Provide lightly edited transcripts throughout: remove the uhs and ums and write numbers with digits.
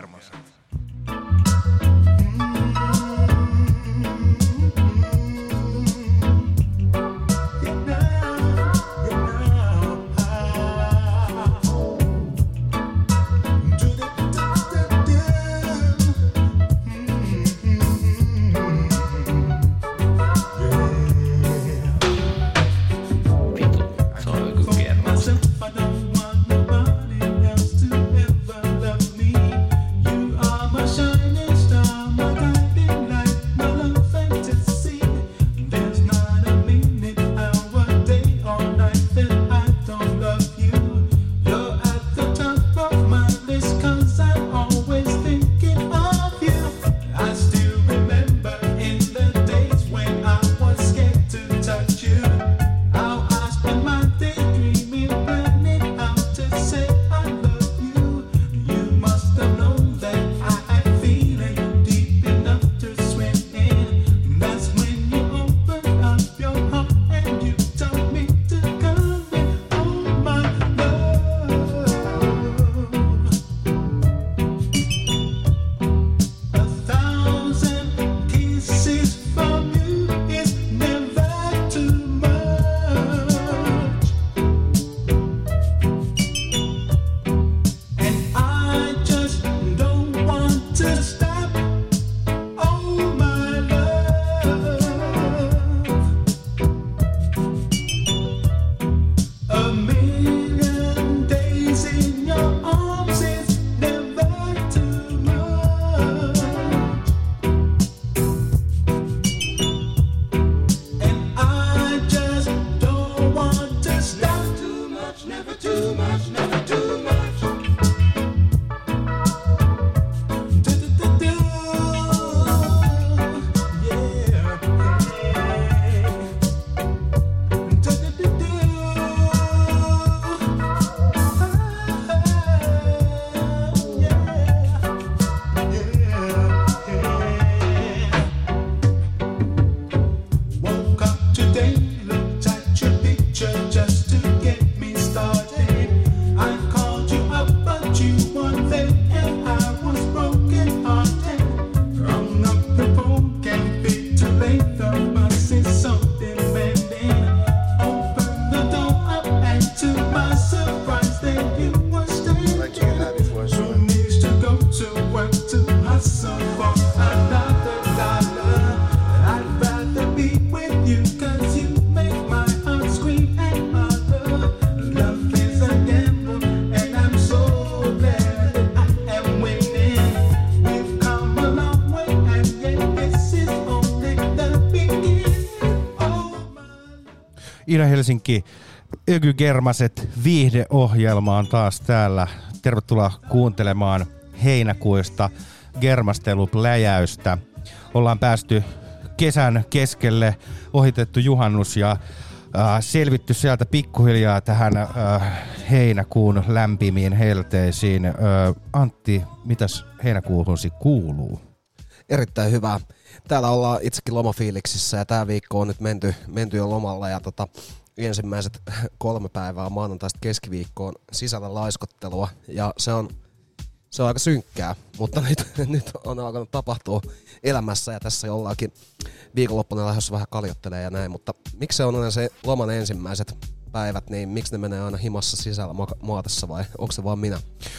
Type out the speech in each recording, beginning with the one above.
Germaset. Ida-Helsinki Öky Germaset viihdeohjelmaan taas täällä. Tervetuloa kuuntelemaan heinäkuista germastelupläjäystä. Ollaan päästy kesän keskelle, ohitettu juhannus ja selvitty sieltä pikkuhiljaa tähän heinäkuun lämpimiin helteisiin. Antti, mitäs heinäkuuhunsi kuuluu? Erittäin hyvä. Täällä ollaan itsekin lomafiiliksissä ja tää viikko on nyt menty jo lomalla ja ensimmäiset 3 päivää maanantaista keskiviikkoon sisällä laiskottelua ja se on aika synkkää, mutta nyt on alkanut tapahtua elämässä ja tässä ollaankin viikonloppuna lähdössä vähän kaljottelemaan ja näin, mutta miksi se on aina se loman ensimmäiset päivät, niin miksi ne menee aina himassa sisällä maatessa vai onko se vaan minä?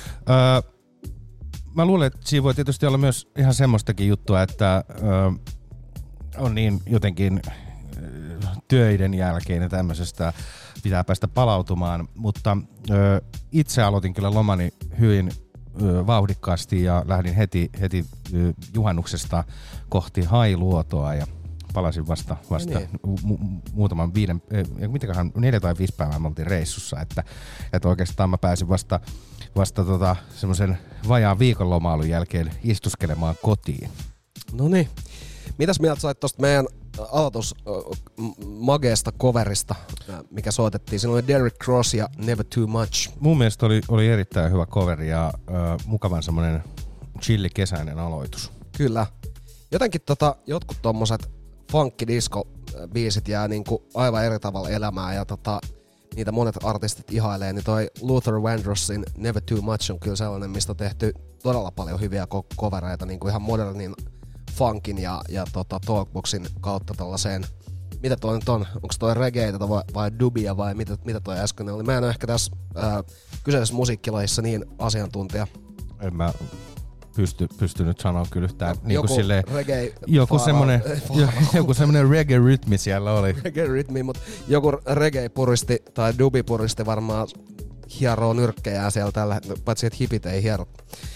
Mä luulen, että siinä voi tietysti olla myös ihan semmoistakin juttua, että on niin jotenkin töiden jälkeen ja tämmöisestä pitää päästä palautumaan, mutta itse aloitin kyllä lomani hyvin vauhdikkaasti ja lähdin heti juhannuksesta kohti Hailuotoa ja palasin vasta muutaman 4 tai 5 päivää me oltiin reissussa, että oikeastaan mä pääsin vasta semmoisen vajaan viikonlomailun jälkeen istuskelemaan kotiin. Noniin. Mitäs mieltä sait tosta meidän aloitus mageesta coverista, mikä soitettiin? Siinä oli Derrick Cross ja Never Too Much. Mun mielestä oli erittäin hyvä coveri ja mukavan semmonen chilli kesäinen aloitus. Kyllä. Jotenkin jotkut tommoset funky disco biisit jää niinku aivan eri tavalla elämään ja niitä monet artistit ihailee, niin toi Luther Vandrossin Never Too Much on kyllä sellainen, mistä on tehty todella paljon hyviä covereita, niin kuin ihan modernin funkin ja talkboxin kautta tällaiseen. Mitä toi nyt on? Onko toi reggaetä vai dubia vai mitä toi äsken oli? Mä en ole ehkä tässä kyseisessä musiikkilajissa niin asiantuntija. En mä pysty nyt sanoa kyllä yhtään. Niin joku silleen, reggae joku semmonen reggae-rytmi siellä oli. Reggae-rytmi, mutta joku reggae-puristi tai dubi-puristi varmaan hieroo nyrkkejään siellä tällä, paitsi että hipit ei hiero.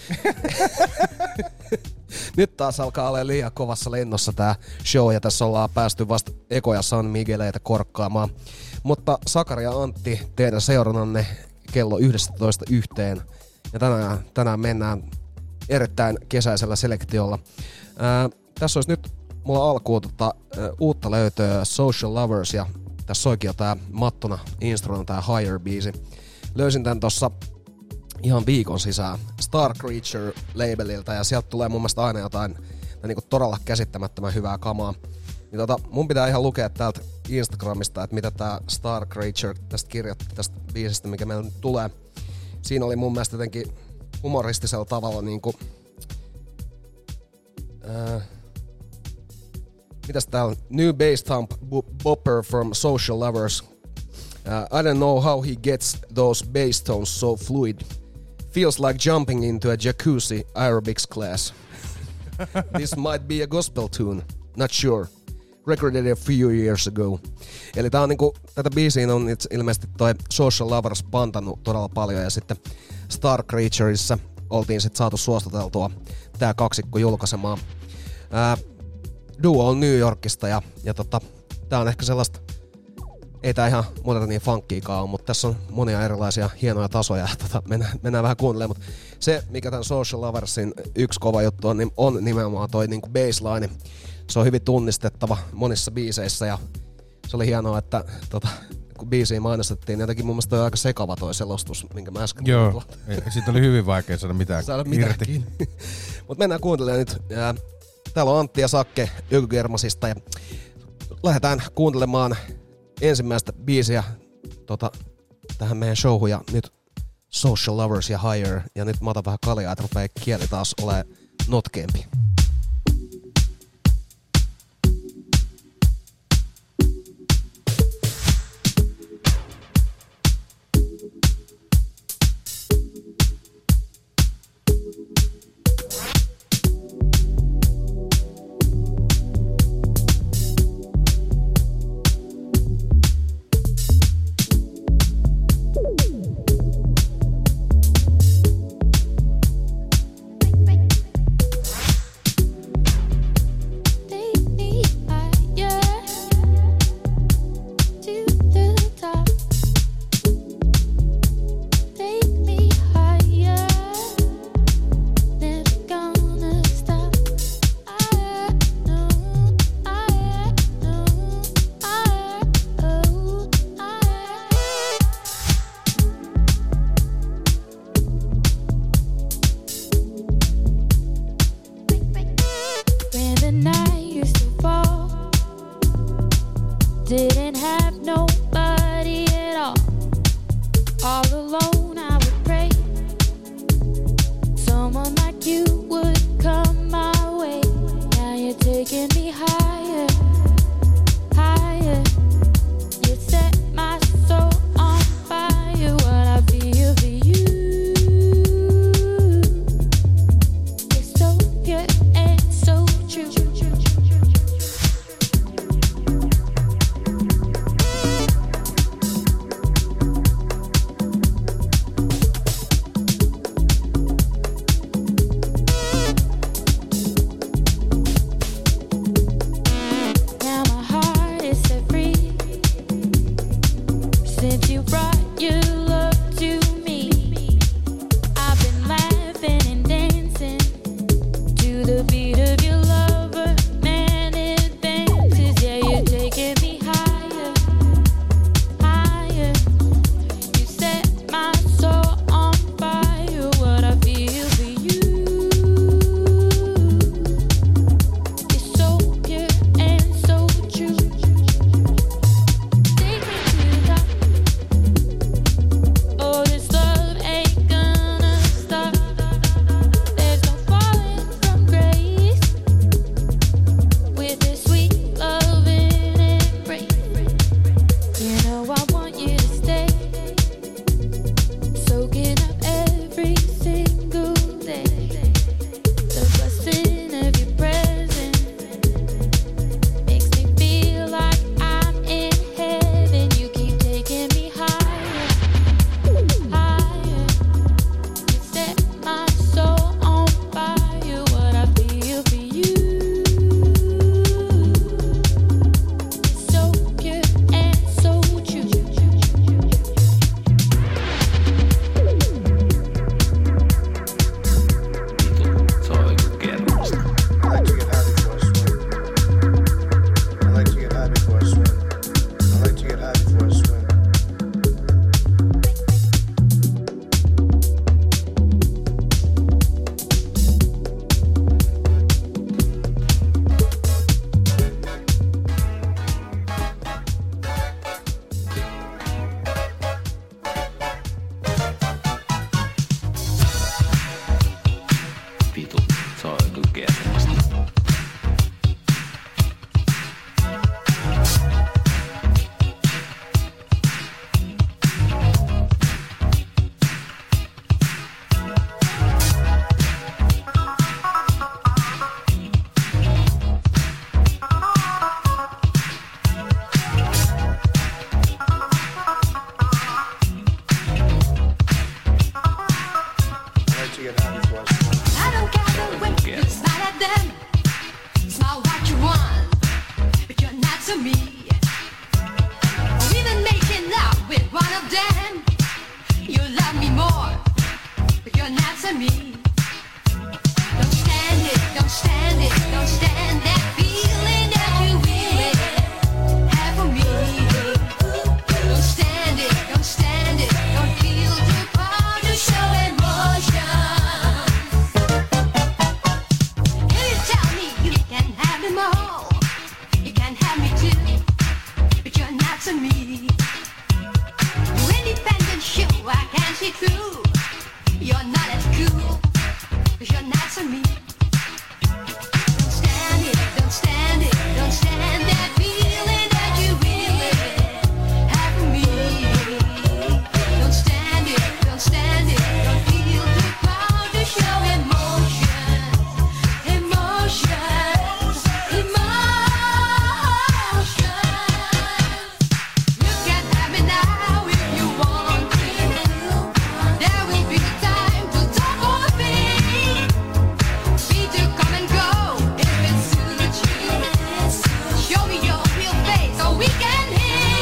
Nyt taas alkaa olla liian kovassa lennossa tää show ja tässä ollaan päästy vasta ekoja San Migueleitä korkkaamaan. Mutta Sakari ja Antti, teidän seurannanne kello 11:01 ja tänään mennään erittäin kesäisellä selektiolla. Tässä olisi nyt mulla alkuun uutta löytöä Social Lovers ja tässä soikin jo tää mattona instrona tää Higher-biisi. Löysin tän tossa ihan viikon sisään Star Creature labelilta ja sieltä tulee mun mielestä aina jotain niinku todella käsittämättömän hyvää kamaa. Niin mun pitää ihan lukea täältä Instagramista, että mitä tää Star Creature tästä kirjoitti tästä biisistä, mikä meillä nyt tulee. Siinä oli mun mielestä jotenkin humoristisella tavalla niinku mitäs täällä? New bass thump bopper from Social Lovers. I don't know how he gets those bass tones so fluid. Feels like jumping into a jacuzzi aerobics class. This might be a gospel tune. Not sure. Recorded a few years ago. Eli tää on niinku, tätä biisiä on ilmeisesti toi Social Lovers pantannut todella paljon ja sitten Star Creatureissa oltiin sit saatu suostuteltua tää kaksikko julkaisemaan. Duo on New Yorkista ja tää on ehkä sellaista, ei tää ihan modernia funkkiikaan ole, mutta tässä on monia erilaisia hienoja tasoja. Mennään vähän kuuntelemaan, mutta se mikä tän Social Loversin yksi kova juttu on, niin on nimenomaan toi niinku bassline. Se on hyvin tunnistettava monissa biiseissä ja se oli hienoa, että kun biisiä mainostettiin, niin jotenkin mun mielestä toi aika sekava toi selostus, minkä mä äsken joo, siitä oli hyvin vaikea saada mitään irti. Mut mennään kuuntelemaan nyt. Täällä on Antti ja Sakke Ykygermasista ja lähdetään kuuntelemaan ensimmäistä biisiä tähän meidän showhun ja nyt Social Lovers ja Higher ja nyt mä otan vähän kaljaa, että rupeaa kieli taas olemaan notkeempi. to get high before I smoke. I don't care the way you smile at them. Smile what you want, but you're not to me. Or even making love with one of them. You love me more, but you're not to me. Don't stand it, don't stand it, don't stand that feeling that you really have for me. Don't stand it, don't stand it, don't feel too proud to show emotion. If you tell me you can have them all, you can have me too, but you're not to me. You're independent, sure, I can see through. You're not as cool, but you're not to me. Don't stand it, don't stand it, don't stand that feeling that you really have for me. Don't stand it, don't stand it, don't feel too proud to show emotion, emotion, emotion. You can have me now if you want to. There will be a time to talk or be. Free to come and go if it suits you. Show me your real face so we can hit.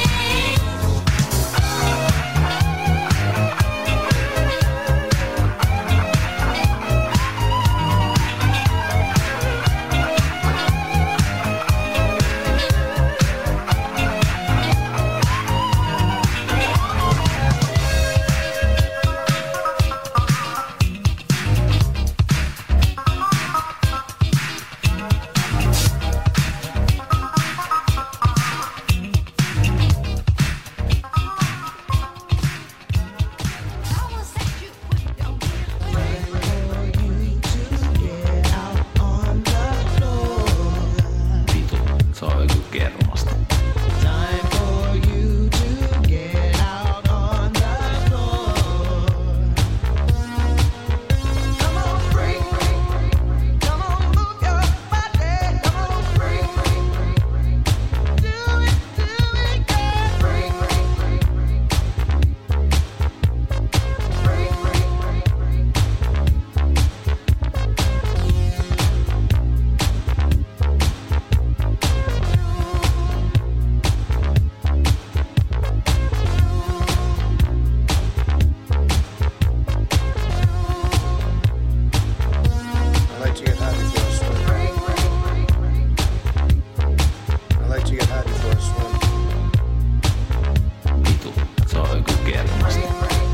Someone said you put it on me. Vitu, se on joku kermasta. Time for you to get out on the floor. Come on, freak. Come on, move your body. Come on, freak. Do it, girl. Freak. I like to get high before I swim. I like to get high before I swim. Vitu, se on joku kermasta.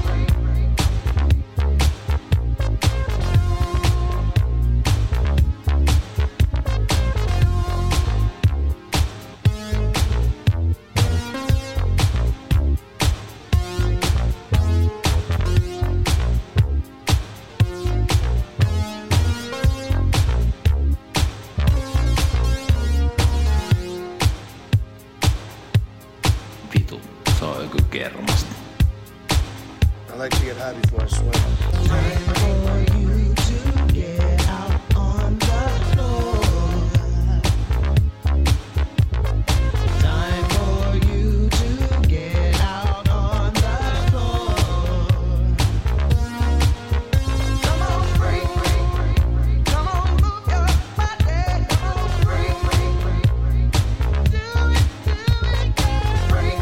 Vitu, se on joku kermasta. I like to get high before I swim. Time for you to get out on the floor. Time for you to get out on the floor. Come on, freak. Come on, move your body. Come on, freak. Do it, girl. Freak.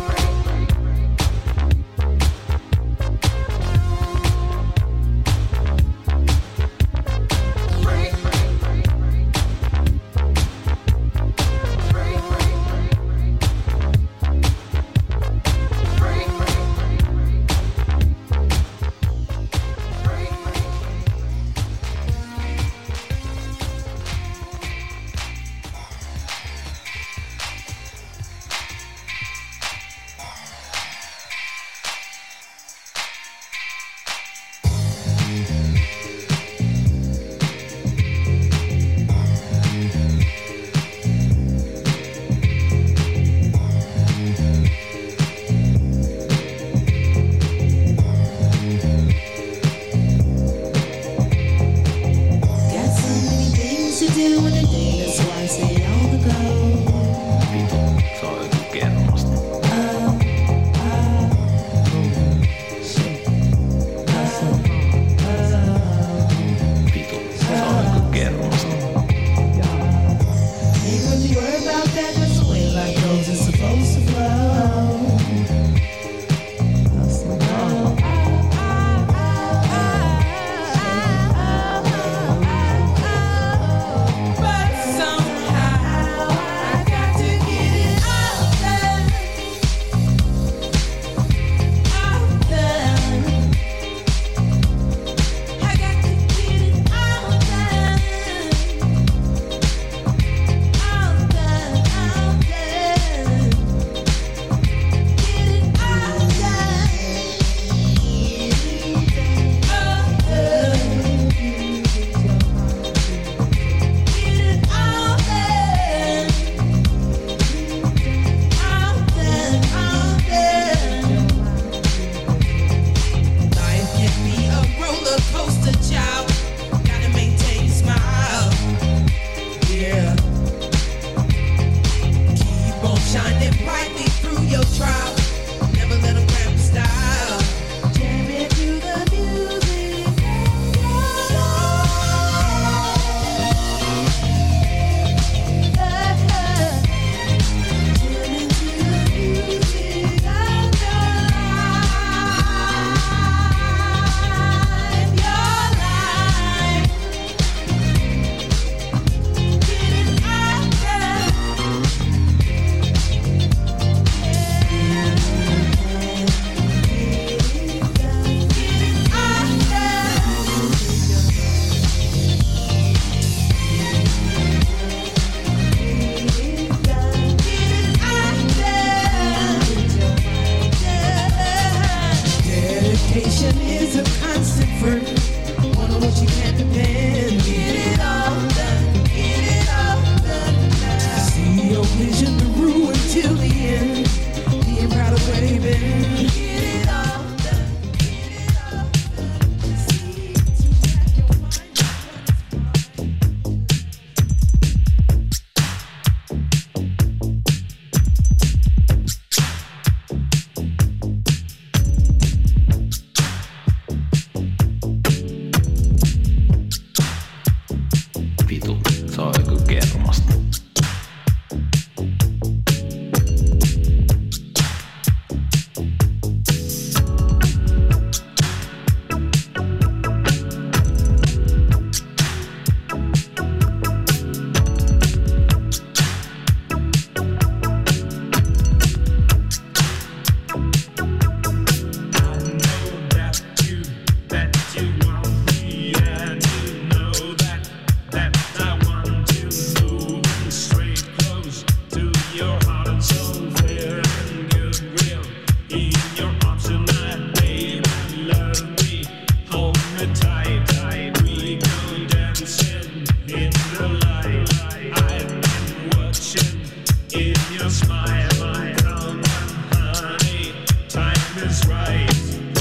me tight. We go dancing in the light. I've been watching in your smile. Come on, honey, time is right.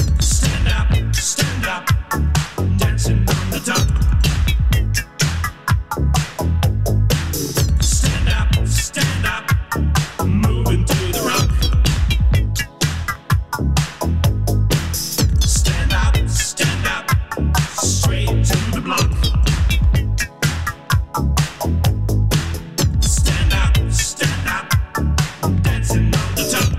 Stand up, dancing on the top. Stand up, moving to the rock. Stand up, straight to the block. Stand up, dancing on the top.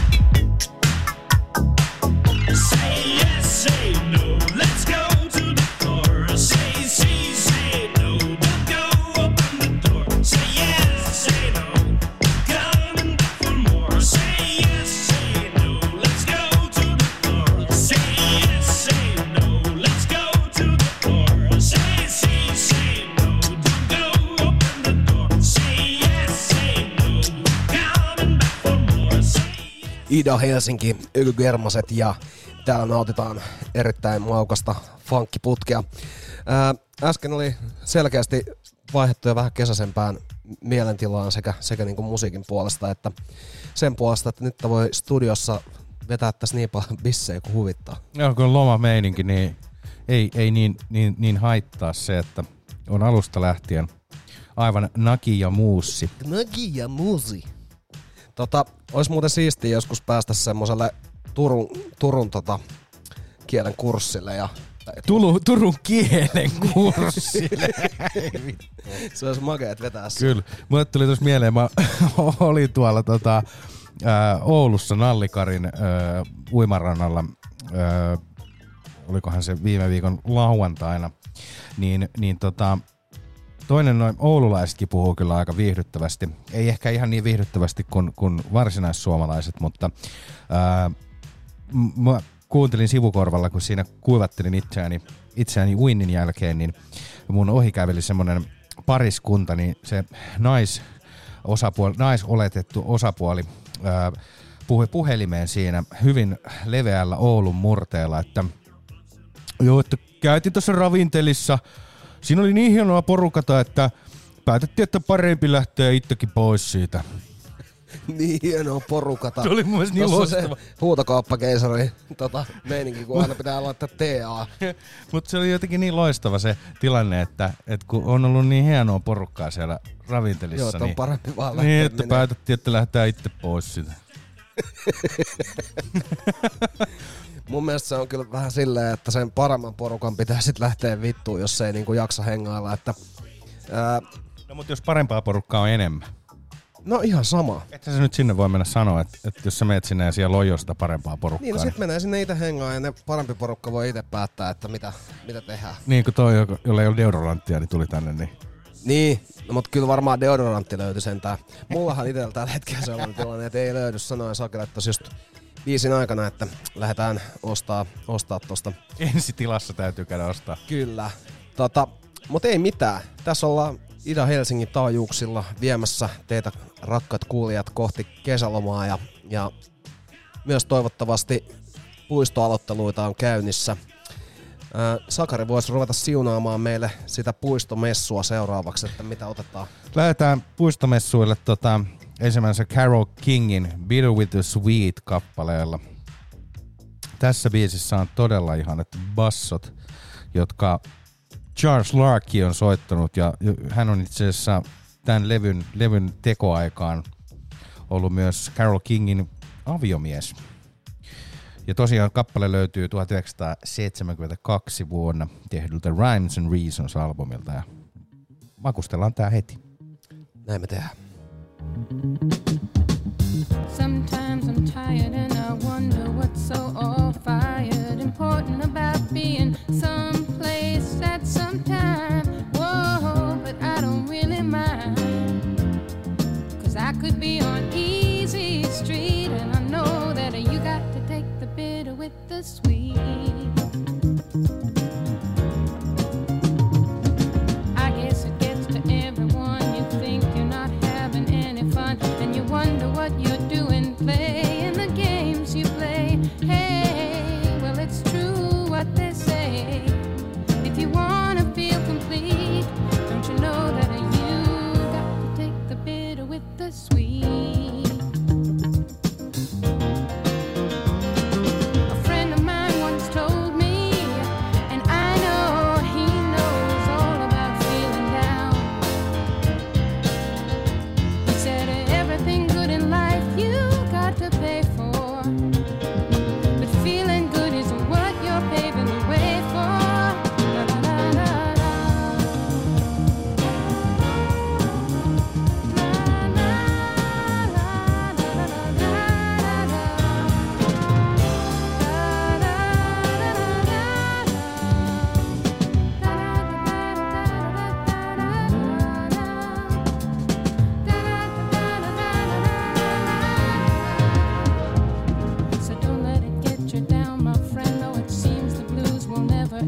Say yes, say no, let's go to the floor. Say no, don't go open the door. Say yes, say no, coming back for more. Say yes, say no, let's go to the floor. Say yes, say no, let's go to the floor. Say no, don't go open the door. Say yes, say no, coming back for more. Ida Helsinki, Ylgermaset ja täällä nautitaan erittäin maukasta funkkiputkea. Äsken oli selkeästi vaihdettu jo vähän kesäisempään mielentilaan sekä niin kuin musiikin puolesta että sen puolesta, että nyt voi studiossa vetää tässä niin paljon bissejä kuin huvittaa. Joo, kun on lomameininki, niin ei niin haittaa se, että on alusta lähtien aivan naki ja muussi. Nagi ja muusi. Olisi muuten siistiä joskus päästä semmoselle Turun kielen kurssille ja Turun kielen kurssille. se olisi makeet vetää se. Kyllä. Mulle tuli tuossa mieleen, mä olin tuolla Oulussa Nallikarin uimarannalla, olikohan se viime viikon lauantaina, niin toinen noin oululaisetkin puhuu kyllä aika viihdyttävästi. Ei ehkä ihan niin viihdyttävästi kuin varsinaissuomalaiset, mutta mä kuuntelin sivukorvalla, kun siinä kuivattelin itseäni uinnin jälkeen, niin mun ohi käveli semmonen pariskunta, niin se naisoletettu osapuoli puhui puhelimeen siinä hyvin leveällä Oulun murteella, että joo, että käytiin tuossa ravintelissa. Siinä oli niin hienoa porukata, että päätettiin, että parempi lähteä itsekin pois siitä. Niin hienoa porukata. Se oli mun mielestä niin loistava. Se huutokauppakeisari meininki, kun aina pitää laittaa TA. Mutta se oli jotenkin niin loistava se tilanne, että kun on ollut niin hienoa porukkaa siellä ravintelissa. Joo, että on parempi vaan lähteä. Niin, että päätettiin, että lähdetään itse pois siitä. Mun mielestä se on kyllä vähän silleen, että sen paremman porukan pitää sit lähteä vittuun, jos se ei niinku jaksa hengailla. No mutta jos parempaa porukkaa on enemmän. No ihan sama. Että se nyt sinne voi mennä sanoa, että jos sä meet sinne ja siellä lojo sitä parempaa porukkaa. Niin, no sit menee sinne itse hengaan ja ne parempi porukka voi itse päättää, että mitä tehdään. Niin kuin toi, jolla ei ole deodoranttia, niin tuli tänne. Niin, no, mutta kyllä varmaan deodorantti löytyi sentään. Mullahan itsellä tällä hetkellä sellainen tilanne, että ei löydy. Sanoin Sakelle tossa just biisin aikana, että lähdetään ostaa tosta. Ensi tilassa täytyy käydä ostaa. Kyllä. Mutta ei mitään. Tässä ollaan Ida-Helsingin taajuuksilla viemässä teitä rakkaat kuulijat kohti kesälomaa ja myös toivottavasti puistoaloitteluita on käynnissä. Sakari voisi ruveta siunaamaan meille sitä puistomessua seuraavaksi, että mitä otetaan. Lähdetään puistomessuille ensimmäisen Carole Kingin Bitter with the Sweet -kappaleella. Tässä biisissä on todella ihanat bassot, jotka Charles Larky on soittanut ja hän on itse asiassa tämän levyn tekoaikaan ollut myös Carole Kingin aviomies. Ja tosiaan kappale löytyy 1972 vuonna tehdyltä Rhymes and Reasons -albumilta ja makustellaan tää heti. Näin me tehdään. Sometimes I'm tired and I wonder what's so all-fired important about being someplace at some time. Whoa, but I don't really mind, 'cause I could be on easy street and I know that you got to take the bitter with the sweet. I guess it gets to everyone. You think you're not having any fun and you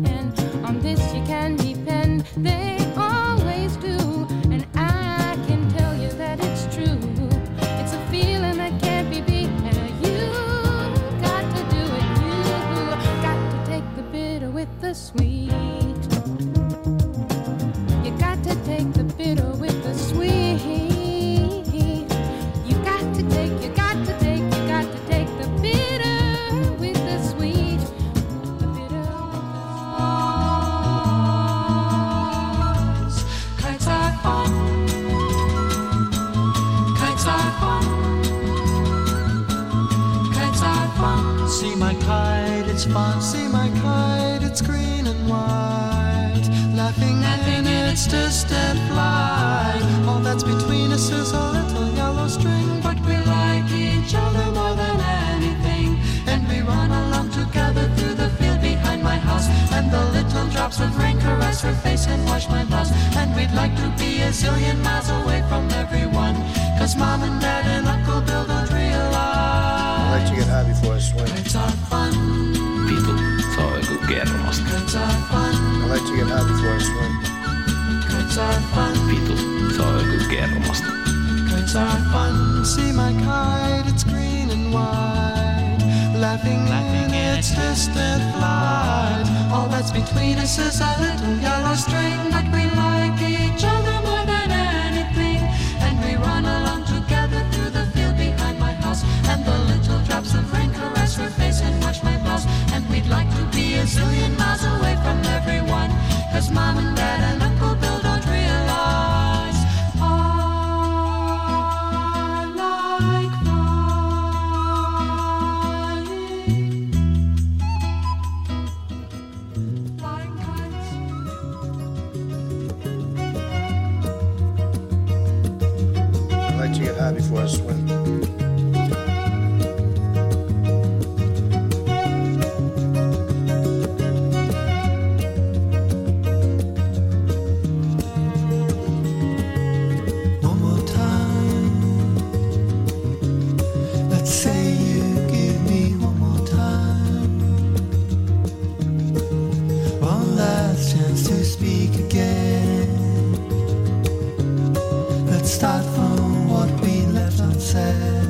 and on this you can depend. They always do, and I can tell you that it's true. It's a feeling that can't be beat, and you got to do it. You got to take the bitter with the sweet. You got to take the bitter with the sweet. You got to take the bitter with the sweet. The bitter Kites are fun. Kites are fun. Kites are fun. See my kite, it's fun. See my kite, it's green and white. Laughing in its distant flight. All that's between us is a little yellow string, but we like each other more than anything. And we run along together through the field behind my house. And the little drops of rain caress her face and wash my blouse. And we'd like to be a zillion miles away from everyone, 'cause Mom and Dad and Uncle Bill don't realize. I like to get high before I swim. Kites are fun. Vitu, se on joku kermasta. Kites are fun. I like to get high before I swim. Kites are fun. Vitu, se on joku kermasta. Kites are fun. See my kite, it's green and white. Laughing in its distant flight. All that's between us is a little yellow string, but we like each other more than anything. And we run along together through the field behind my house. And the little drops of rain caress her face and wash my blouse. And we'd like to be a zillion miles away from everyone, 'cause Mom and Dad and Uncle Bill don't realize. I like flying kites. I like to get high before I swim. One more time. Let's say you give me one more time. One last chance to speak again. Let's start from what we left unsaid.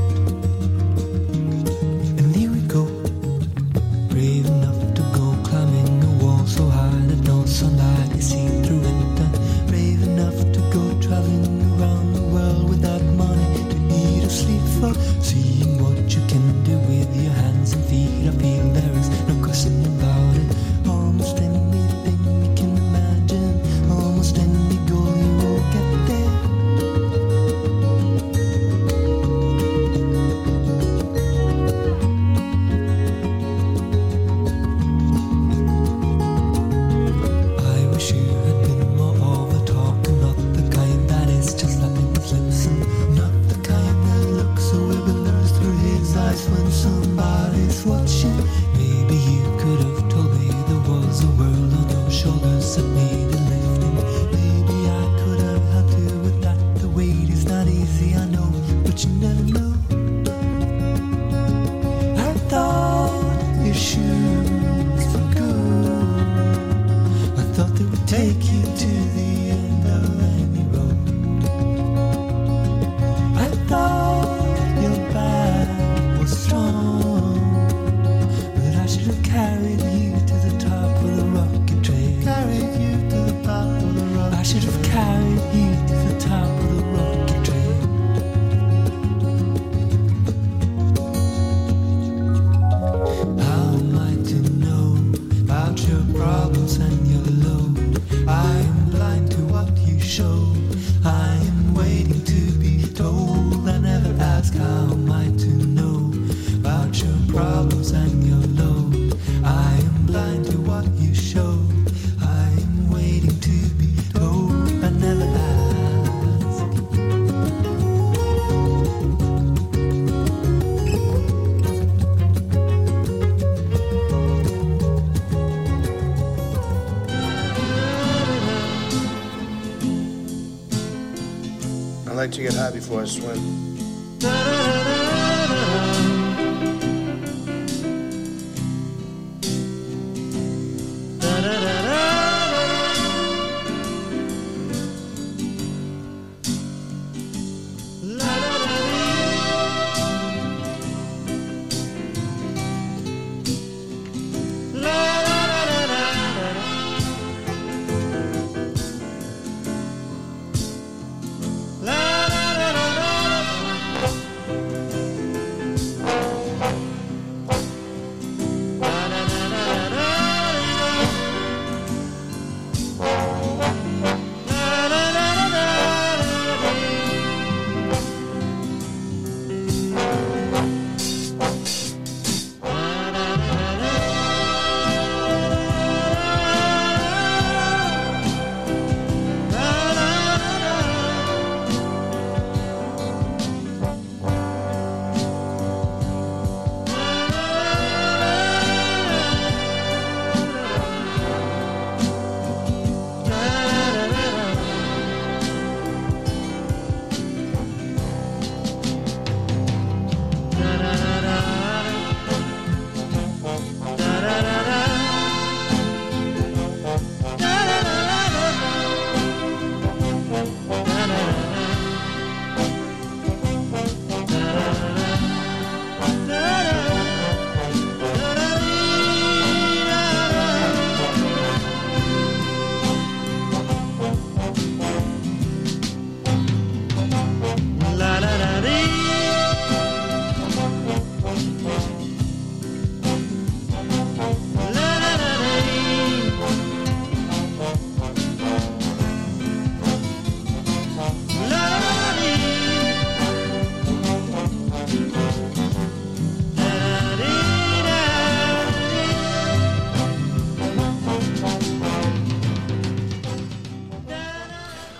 And here we go. Brave enough to go climbing a wall so high that no sunlight is seen through it. Brave enough to go traveling around the world without money to eat or sleep for. Seeing what you can do with your hands and feet. I feel there is no question about it. Almost anything you can imagine, almost any goal you will get there. I wish you had been more of a talker, not the kind that is just slapping his lips, and not the kind that looks so bewildered through his eyes when somebody's watching. Maybe you could have told me there was a world on your shoulders that needed lifting. Maybe I could have helped you with that. The weight is not easy, I know, but you never know. I thought your shoes were good. I thought they would take you to the end of any road. I thought your back was strong, but I should have carried you to the top of the rocket train. Carried you to the top of the rocket. I should have carried you to the top of the rocket train. How am I to know about your problems and your load? I am blind to what you show. I am waiting to be told. I never ask how am I to know about your problems and your load. I am blind to what you show. I am waiting to be told. I never ask. I like to get high before I swim. Da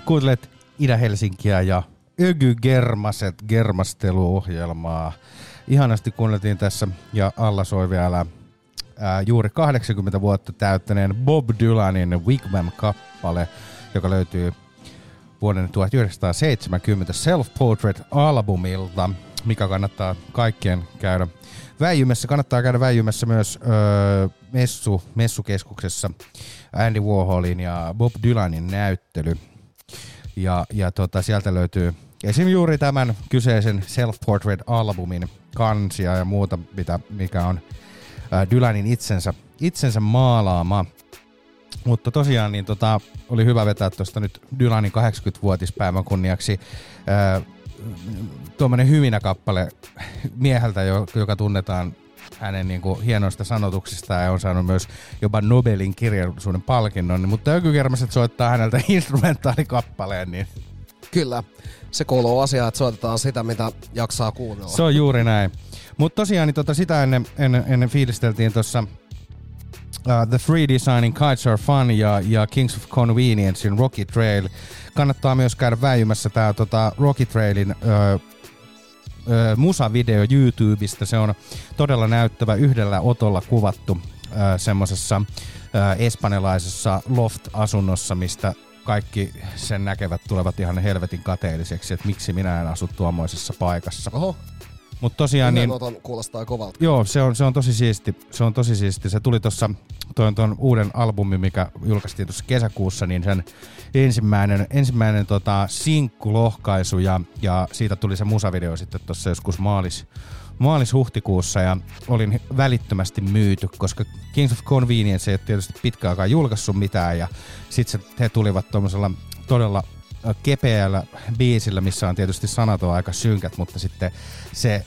Kuuntelet Itä-Helsinkiä ja Ögy Germaset germasteluohjelmaa. Ihanasti kuunneltiin tässä ja alla soi vielä juuri 80 vuotta täyttäneen Bob Dylanin Wigwam-kappale, joka löytyy vuoden 1970 Self-Portrait-albumilta, mikä kannattaa kaikkien käydä väijymässä. Kannattaa käydä väijymässä myös messukeskuksessa Andy Warholin ja Bob Dylanin näyttely. Ja sieltä löytyy esim. Juuri tämän kyseisen Self-Portrait-albumin kansia ja muuta, mikä on Dylanin itsensä maalaama. Mutta tosiaan niin oli hyvä vetää tuosta nyt Dylanin 80-vuotispäivän kunniaksi tuommoinen hyvinä kappale mieheltä, joka tunnetaan hänen niin kuin hienoista sanotuksista ja on saanut myös jopa Nobelin kirjallisuuden palkinnon, mutta Ögy Germaset soittaa häneltä instrumentaalikappaleen. Niin Kyllä, se kuuluu asiaan, että soitetaan sitä, mitä jaksaa kuunnella. se on juuri näin. Mutta tosiaan niin sitä ennen fiilisteltiin tuossa The Free Designing Kites Are Fun ja Kings of Conveniencein Rocky Trail. Kannattaa myös käydä väijymässä tää Rocky Trailin musavideo YouTubesta. Se on todella näyttävä, yhdellä otolla kuvattu semmosessa espanjalaisessa loft-asunnossa, mistä kaikki sen näkevät tulevat ihan helvetin kateelliseksi, että miksi minä en asu tuommoisessa paikassa. Oho. Mutta tosiaan niin, kuulostaa kovalta. joo, se on tosi siisti. Se on tosi siisti. Se tuli tuossa tuon uuden albumin, mikä julkaistiin tuossa kesäkuussa, niin sen ensimmäinen sinkkulohkaisu ja siitä tuli se musavideo sitten tuossa joskus maalis-huhtikuussa ja olin välittömästi myyty, koska Kings of Convenience ei ole tietysti pitkään aikaa julkaissut mitään ja sitten he tulivat tuommoisella todella kepeällä biisillä, missä on tietysti sanat on aika synkät, mutta sitten se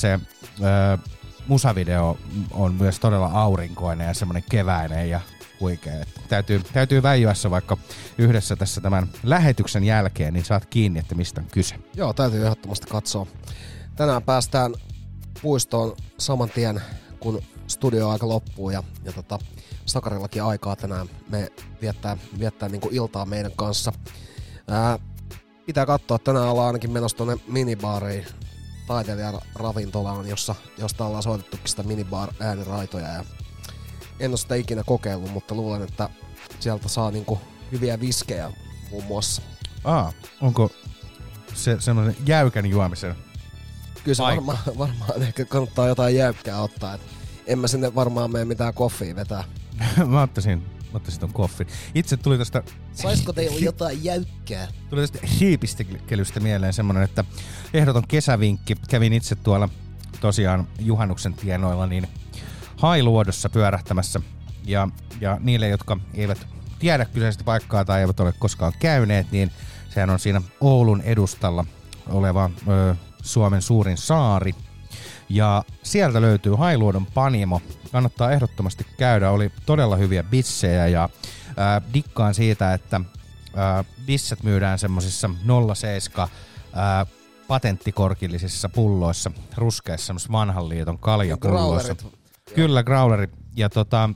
musavideo on myös todella aurinkoinen ja semmoinen keväinen ja huikea. Täytyy väijyässä vaikka yhdessä tässä tämän lähetyksen jälkeen, niin saat kiinni, että mistä on kyse. Joo, täytyy ehdottomasti katsoa. Tänään päästään puistoon saman tien, kun studioaika loppuu ja Sakarillakin aikaa tänään me viettää niinku iltaa meidän kanssa. Pitää katsoa, tänään ollaan ainakin menossa tuonne minibaariin, taiteilijan ravintolaan, josta ollaan soitettukin sitä minibar-ääniraitoja. Ja en ole sitä ikinä kokeillut, mutta luulen, että sieltä saa niinku hyviä viskejä muun muassa. Onko se semmoinen jäykän juomisen? Kyllä se varmaan ehkä kannattaa jotain jäykkää ottaa. Et en mä sinne varmaan mene mitään koffia vetää. Mä ottaisin ton koffin. Itse tuli tästä... Saisko teillä jotain jäykkää? Tuli tästä hiipistelystä mieleen semmonen, että ehdoton kesävinkki. Kävin itse tuolla tosiaan juhannuksen tienoilla niin Hailuodossa pyörähtämässä. Ja niille, jotka eivät tiedä kyseistä paikkaa tai eivät ole koskaan käyneet, niin sehän on siinä Oulun edustalla oleva Suomen suurin saari. Ja sieltä löytyy Hailuodon Panimo. Kannattaa ehdottomasti käydä. Oli todella hyviä bissejä ja dikkaan siitä, että bisset myydään semmosissa 07 patenttikorkillisissa pulloissa, ruskeissa semmoisissa vanhan liiton kaljapulloissa. Kyllä, growlerit. Ja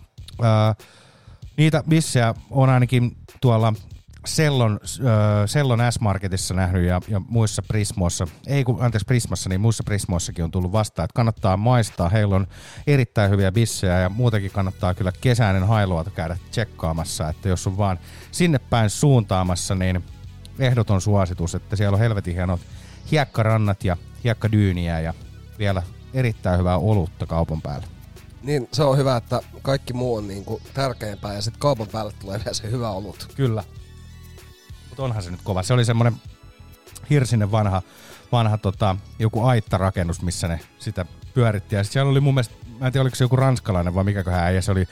niitä bissejä on ainakin tuolla Sellon S-Marketissa nähnyt ja muissa Prismoissa, Prismassa, niin muissa Prismoissakin on tullut vastaan, että kannattaa maistaa. Heillä on erittäin hyviä bissejä ja muutenkin kannattaa kyllä kesäinen Hailuoto käydä tsekkaamassa, että jos on vaan sinne päin suuntaamassa, niin ehdoton suositus, että siellä on helvetin hienot hiekkarannat ja hiekkadyyniä ja vielä erittäin hyvää olutta kaupan päällä. Niin, se on hyvä, että kaikki muu on niinku tärkeämpää ja sitten kaupan päälle tulee vielä se hyvä olut. Kyllä. Mutta onhan se nyt kova. Se oli semmoinen hirsinen vanha joku aittarakennus, missä ne sitä pyöritti. Ja siellä oli mun mielestä, mä en tiedä oliko se joku ranskalainen vai mikäköhän äijä se oli,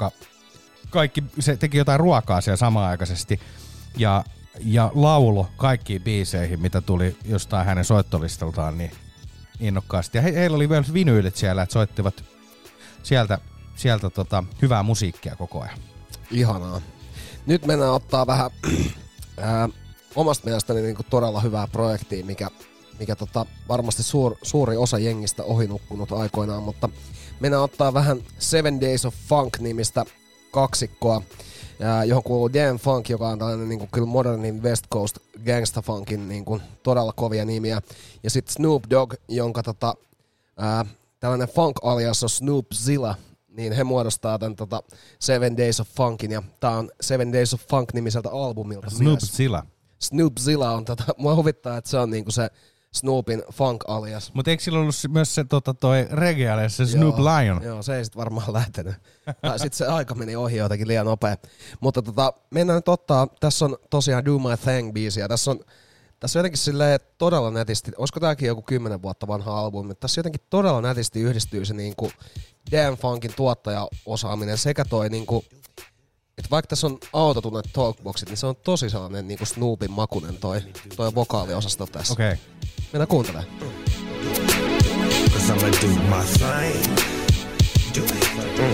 se teki jotain ruokaa siellä samanaikaisesti. Ja laulo kaikkiin biiseihin, mitä tuli jostain hänen soittolistaltaan niin innokkaasti. Ja heillä oli myös vinyylit siellä, että soittivat sieltä hyvää musiikkia koko ajan. Ihanaa. Nyt mennään ottaa vähän omasta mielestäni niinku todella hyvää projektia, mikä varmasti suuri osa jengistä ohinukkunut aikoinaan, mutta mennään ottaa vähän 7 Days of Funk -nimistä kaksikkoa, johon kuuluu Dan Funk, joka on tällainen niin kuin kyllä modernin West Coast gangsta funkin niin kuin todella kovia nimiä. Ja sitten Snoop Dogg, jonka tällainen funk-alias on Snoopzilla, niin he muodostaa tämän Seven Days of Funkin, ja tää on Seven Days of Funk -nimiseltä albumilta. Snoopzilla on mua huvittaa, että se on niinku se Snoopin funk-alias. Mutta eikö sillä ollut myös se toi reggae-alias, se Snoop Lion? Joo, se ei sit varmaan lähtenyt. Tai sit se aika meni ohi jotenkin liian nopea. Mutta mennään nyt ottaa, tässä on tosiaan Do My Thing-biisiä. Tässä on jotenkin silleen todella nätisti, olisiko tääkin joku 10 vuotta vanha albumi, mutta tässä jotenkin todella nätisti yhdistyy se niinku Dan Funkin tuottajaosaaminen sekä toi niinku, että vaikka tässä on autotunet talkboxit, niin se on tosi sellainen niinku Snoopin makunen toi vokaaliosasto tässä. Okei. Okay. Mennään kuuntelemaan. Cause I'ma do my thing. Do it.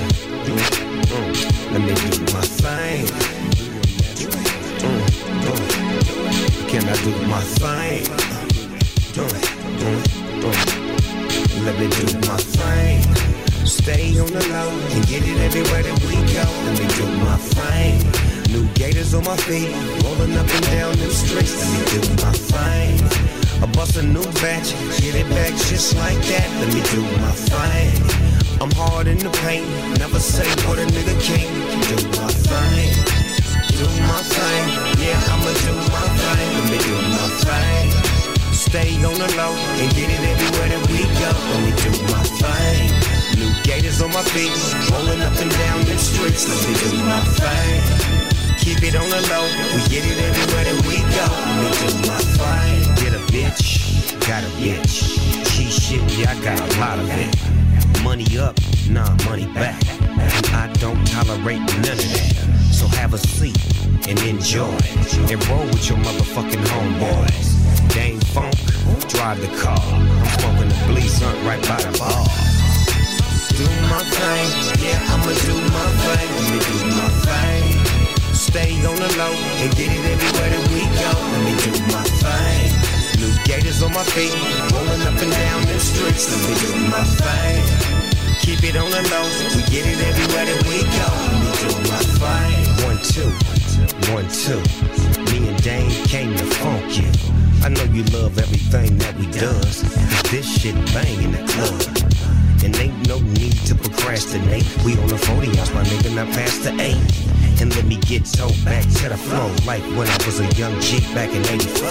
Let me do my thing. Can I do my thing? Let me do my thing. Stay on the low and get it everywhere that we go. Let me do my thing. New gators on my feet, rolling up and down them streets. Let me do my thing. I bust a new batch, get it back just like that. Let me do my thing. I'm hard in the paint, never say what a nigga can't. Do my thing. Do my thing, yeah, I'ma do my thing. Let me do my thing. Stay on the low and get it everywhere that we go. Let me do my thing. New gators on my feet, rolling up and down the streets. Let me do my thing. Keep it on the low, we get it everywhere that we go. Let me do my thing. Get a bitch, got a bitch. She shit, yeah, I got a lot of it. Money up, nah, money back. And I don't tolerate none of that. So have a seat and enjoy and roll with your motherfucking homeboys. Dame Funk, drive the car. I'm smoking the Bleazunt right by the bar. Do my thing, yeah, I'ma do my thing. Let me do my thing. Stay on the low and get it everywhere that we go. Let me do my thing. New gators on my feet, rolling up and down them streets. Let me do my thing. Keep it on the low, we get it everywhere that we go. Let me do my thing. 1, 2, 1, 2. Me and Dame came to funk you. I know you love everything that we does, cause this shit bang in the club. And ain't no need to procrastinate. We on the 40 ounce, my nigga, not past the 8. And let me get towed back to the flow, like when I was a young G back in 84.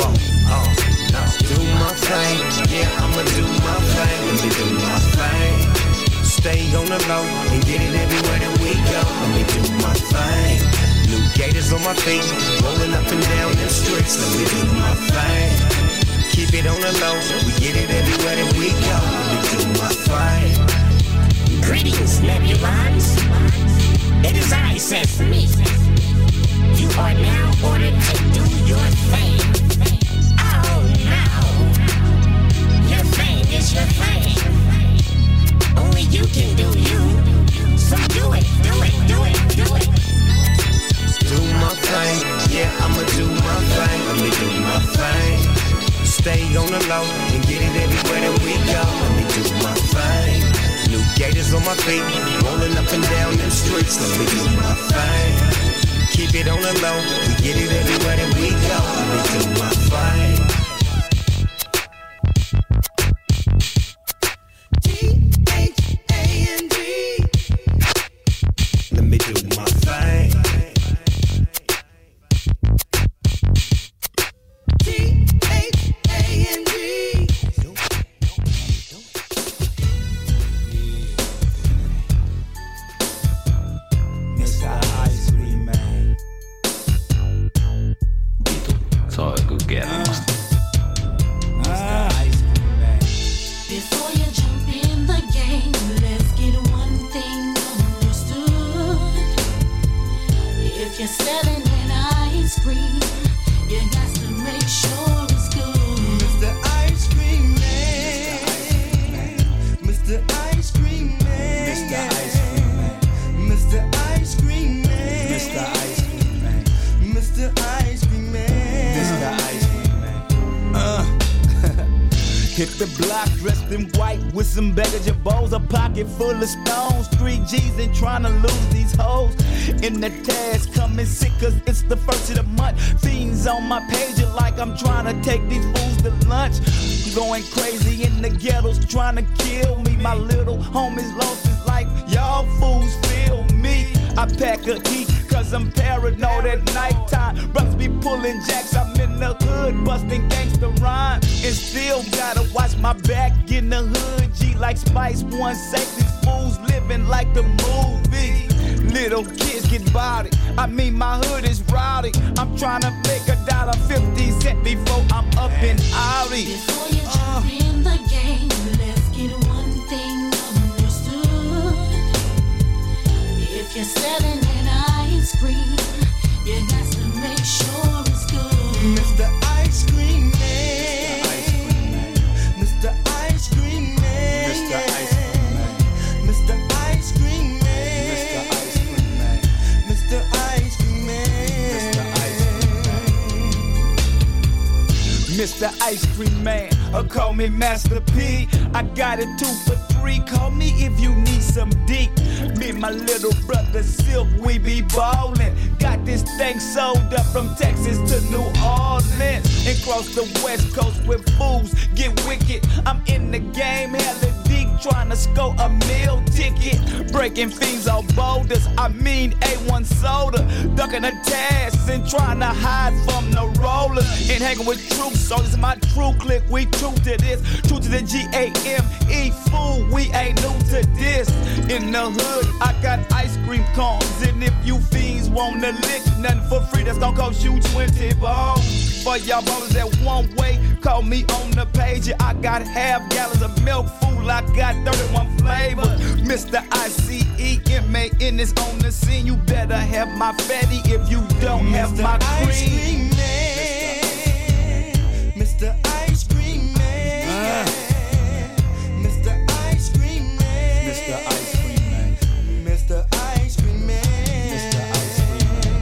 Do my thing, yeah, I'ma do my thing. Let me do my thing. Stay on the low and get it everywhere that we go. Let me do my thing. New gators on my feet, rolling up and down them streets. Let me do my thing. Keep it on the low, we get it everywhere that we go. Let me do my thing. Greetings, Nebulons. It is I, Sesame. You are now ordered to do your thing. Oh no, your thing is your thing. Only you can do you. So do it, do it, do it, do it. Do my thing, yeah, I'ma do my thing. Let me do my thing. Stay on the low and get it everywhere that we go. Let me do my thing. New gators on my feet, rolling up and down them streets. Let me do my thing. Keep it on the low, we get it everywhere that we go. Let me do my thing. T-H-A-N-G. Let me do my thing. T-H-A-N-G. Soi kuin kermasta. Before you jump in the game, let's get one thing understood. If you're selling an ice cream, you got to make sure it's good. Mr. Ice Cream Man. Mr. Ice Cream Man. Mr. Ice Cream Man. Mr. Ice Cream Man. Mr. Ice Cream Man. Mr. Ice Cream Man. Mr. Ice Cream Man. Hit the block dressed in white with some baggage of bowls, a pocket full of stones. 3 G's and trying to lose these hoes. In the task, coming sick cause it's the first of the month. Fiends on my page like I'm trying to take these fools to lunch. Going crazy in the ghettos trying to kill me. My little homies lost his life, y'all fools feel me. I pack a heat cause I'm paranoid at nighttime. Brothers be pulling jacks, I'm in the hood busting gangsta rhyme. And still gotta watch my back in the hood. G like Spice One, safe these fools living like the movie. Little kids get body, I mean my hood is rowdy. I'm trying to make $1.50 before I'm up and outy. Before you jump in the game, let's get one thing understood. If you're selling an ice cream, you got to make sure it's good. Mr. Ice Cream Man, Mr. Ice Cream Man, Mr. Ice Cream Man, Mr. Ice Cream Man, Mr. Ice Cream Man, Mr. Ice Cream Man, or call me Master P. I got it 2 for $3. Call me if you need some deep. Me and my little brother Silk, we be ballin'. Got this thing sold up from Texas to New Orleans and cross the West Coast with fools get wicked. I'm in the game, hella deep, trying to score a meal ticket. Breaking fiends on boulders, I mean A1 soda. Ducking the tasks and trying to hide from the rollers. And hanging with troops, so this is my true clique. We true to this, true to the G-A-M-E. Fool, we ain't new to this. In the hood, I got ice cream cones. And if you fiends wanna lick nothing for free, that's gonna cost you 20 balls. For y'all ballers that one way, call me on the page. I got half gallons of milk, fool, I got 31 flavors. Mr. ICEMAN is on the scene. You better have my fatty if you don't have my cream. Mr. Ice Cream Man, Mr. Ice Cream Man, Mr. Ice Cream Man, Mr. Ice Cream Man, Mr. Ice Cream Man.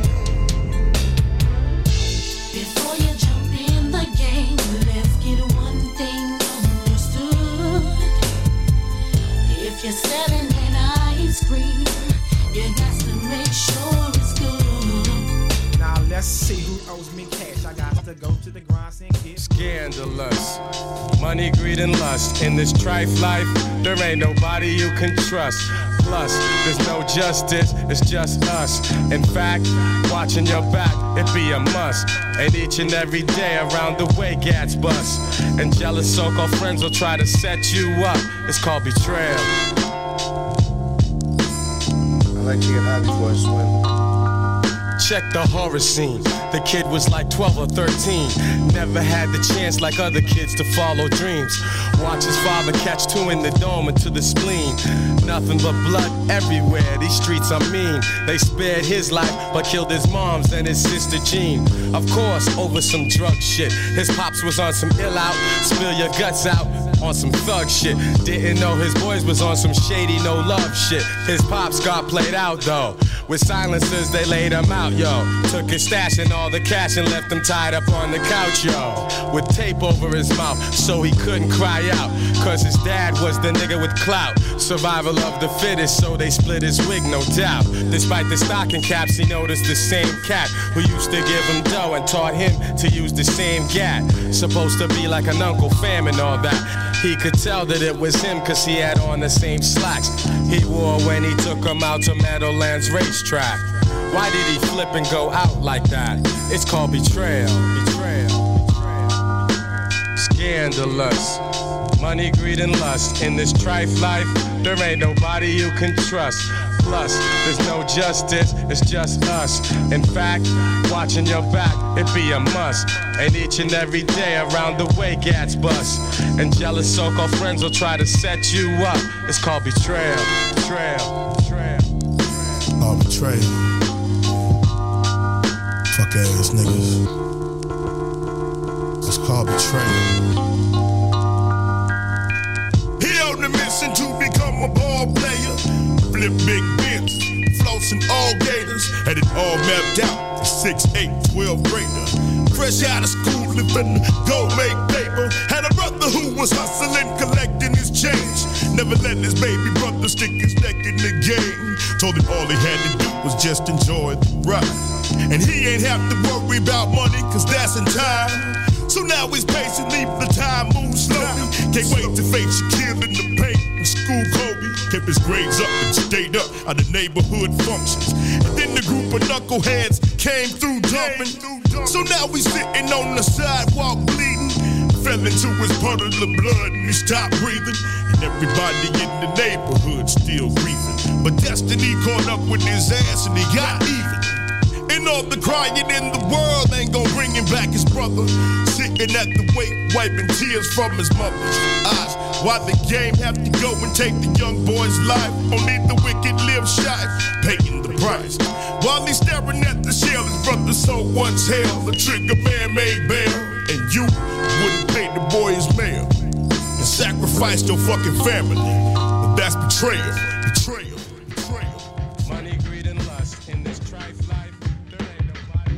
Before you jump in the game, let's get one thing understood. If you're selling an ice cream, you got to make sure it's good. Now let's see who owes me cash. I got to go to the grind and get scandalous. Money, greed, and lust. In this trife life, there ain't nobody you can trust. Plus, there's no justice, it's just us. In fact, watching your back, it be a must. And each and every day around the way, gats bust. And jealous so-called friends will try to set you up. It's called betrayal. I like to get high before I swim. Check the horror scene. The kid was like 12 or 13. Never had the chance like other kids to follow dreams. Watch his father catch 2 in the dome and to the spleen. Nothing but blood everywhere. These streets are mean. They spared his life but killed his mom's and his sister Jean. Of course, over some drug shit. His pops was on some ill out, spill your guts out on some thug shit. Didn't know his boys was on some shady no love shit. His pops got played out though. With silencers they laid him out, yo. Took his stash and all the cash and left him tied up on the couch, yo. With tape over his mouth so he couldn't cry out. Cause his dad was the nigga with clout. Survival of the fittest, so they split his wig, no doubt. Despite the stocking caps, he noticed the same cat who used to give him dough and taught him to use the same gat. Supposed to be like an Uncle Fam and all that. He could tell that it was him cause he had on the same slacks he wore when he took him out to Meadowlands racetrack. Why did he flip and go out like that? It's called betrayal. Scandalous. Money, greed, and lust. In this trife life, there ain't nobody you can trust. Plus, there's no justice, it's just us. In fact, watching your back, it be a must. And each and every day around the way, gats bust. And jealous so-called friends will try to set you up. It's called betrayal. Oh, betrayal. Fuck ass niggas. It's called betrayal. He on the mission to become a ball player. Flip big bins, flossing all gators. Had it all mapped out, 6'8", 12 grader. Fresh out of school, living go make paper. Had a brother who was hustling, collecting his change. Never let his baby brother stick his neck in the game. Told him all he had to do was just enjoy the ride. And he ain't have to worry about money, cause that's in time. So now he's patiently, the time moves slowly. Can't wait to face Shaquille in the paint and school Kobe. Kept his grades up and stayed up at the neighborhood functions. And then the group of knuckleheads came through jumping. So now he's sitting on the sidewalk bleeding. Fell into his puddle of blood and he stopped breathing. And everybody in the neighborhood still grieving. But destiny caught up with his ass and he got even. And all the crying in the world ain't gon' bring him back his brother. Sitting at the wake, wiping tears from his mother's eyes. Why the game have to go and take the young boy's life? Only the wicked live shy, paying the price. While he's staring at the shell, his brother so once held. The trigger man made bail, and you wouldn't pay the boy his mail. And sacrificed your fucking family. But that's betrayal, betrayal, betrayal. Money, greed, and lust in this trife life. There ain't nobody.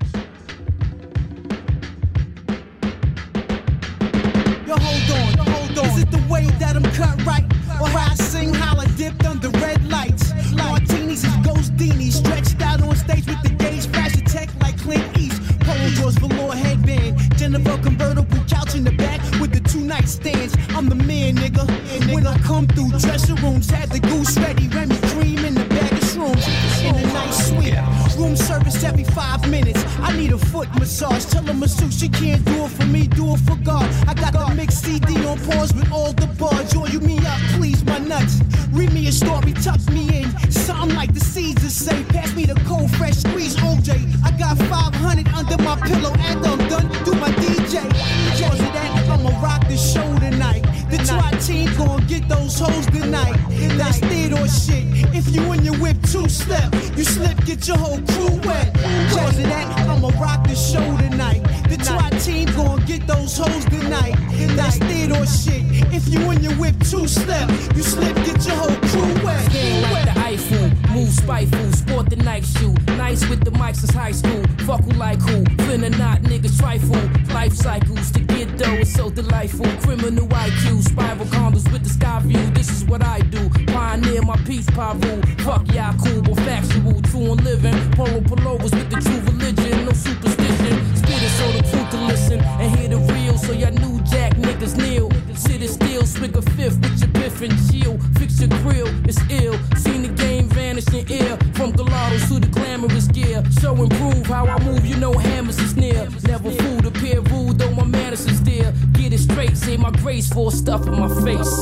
Yo, hold on. Is it the way that I'm cut right? Or how I sing, holla, dipped under red lights? Martinis is ghost beanies, stretched out on stage with the gauge, fashion tech like Clint East. Polo drawers, velour headband, Jennifer convertible couch in the back with the 2 nightstands. I'm the man, nigga. When I come through, dressing rooms had the goose ready, Remy cream in the bag of shrooms. In a nice suite, room service every 5 minutes. I need a foot massage. Tell a masseuse she can't do it for me, do it for God. I got the mixed CD on pause with all the bars. Join you me up, please my nuts. Read me a story, tuck me in. Something like the Caesars say. Pass me the cold, fresh squeeze, OJ. I got 500 under my pillow and I'm done. Do my DJ. Because of that, I'ma rock the show tonight. The SWAT team gon' get those hoes tonight. That's theater shit. If you and your whip 2-step, you slip, get your whole crew wet. Because of that, I'ma rock the show tonight. The SWAT team gon' get those hoes tonight. That's theater shit. If you and your whip 2-step, you slip, get your whole crew wet. Stand like the Eiffel, move spiteful, sport the night shoe. Nice with the mics since high school. Fuck who like who, finna not, niggas trifle. Life cycles to get though, it's so delightful. Criminal IQ, spiral condos with the sky view. This is what I do, pioneer my peace pavu. Fuck y'all cool, but factual, true and living. Polo pullovers with the true religion, no superstition. Spit it so the crew can listen and hear the real. So y'all new jack niggas kneel. Sit it still, swig a fifth with your biff and chill. Fix your grill, it's ill. Seen the game vanish in air. From gelatos to the glamorous gear. Show and prove how I move, you know hammers is near. Never fooled, appear rude, though my manners is there. Get it straight, say my grace for stuff in my face.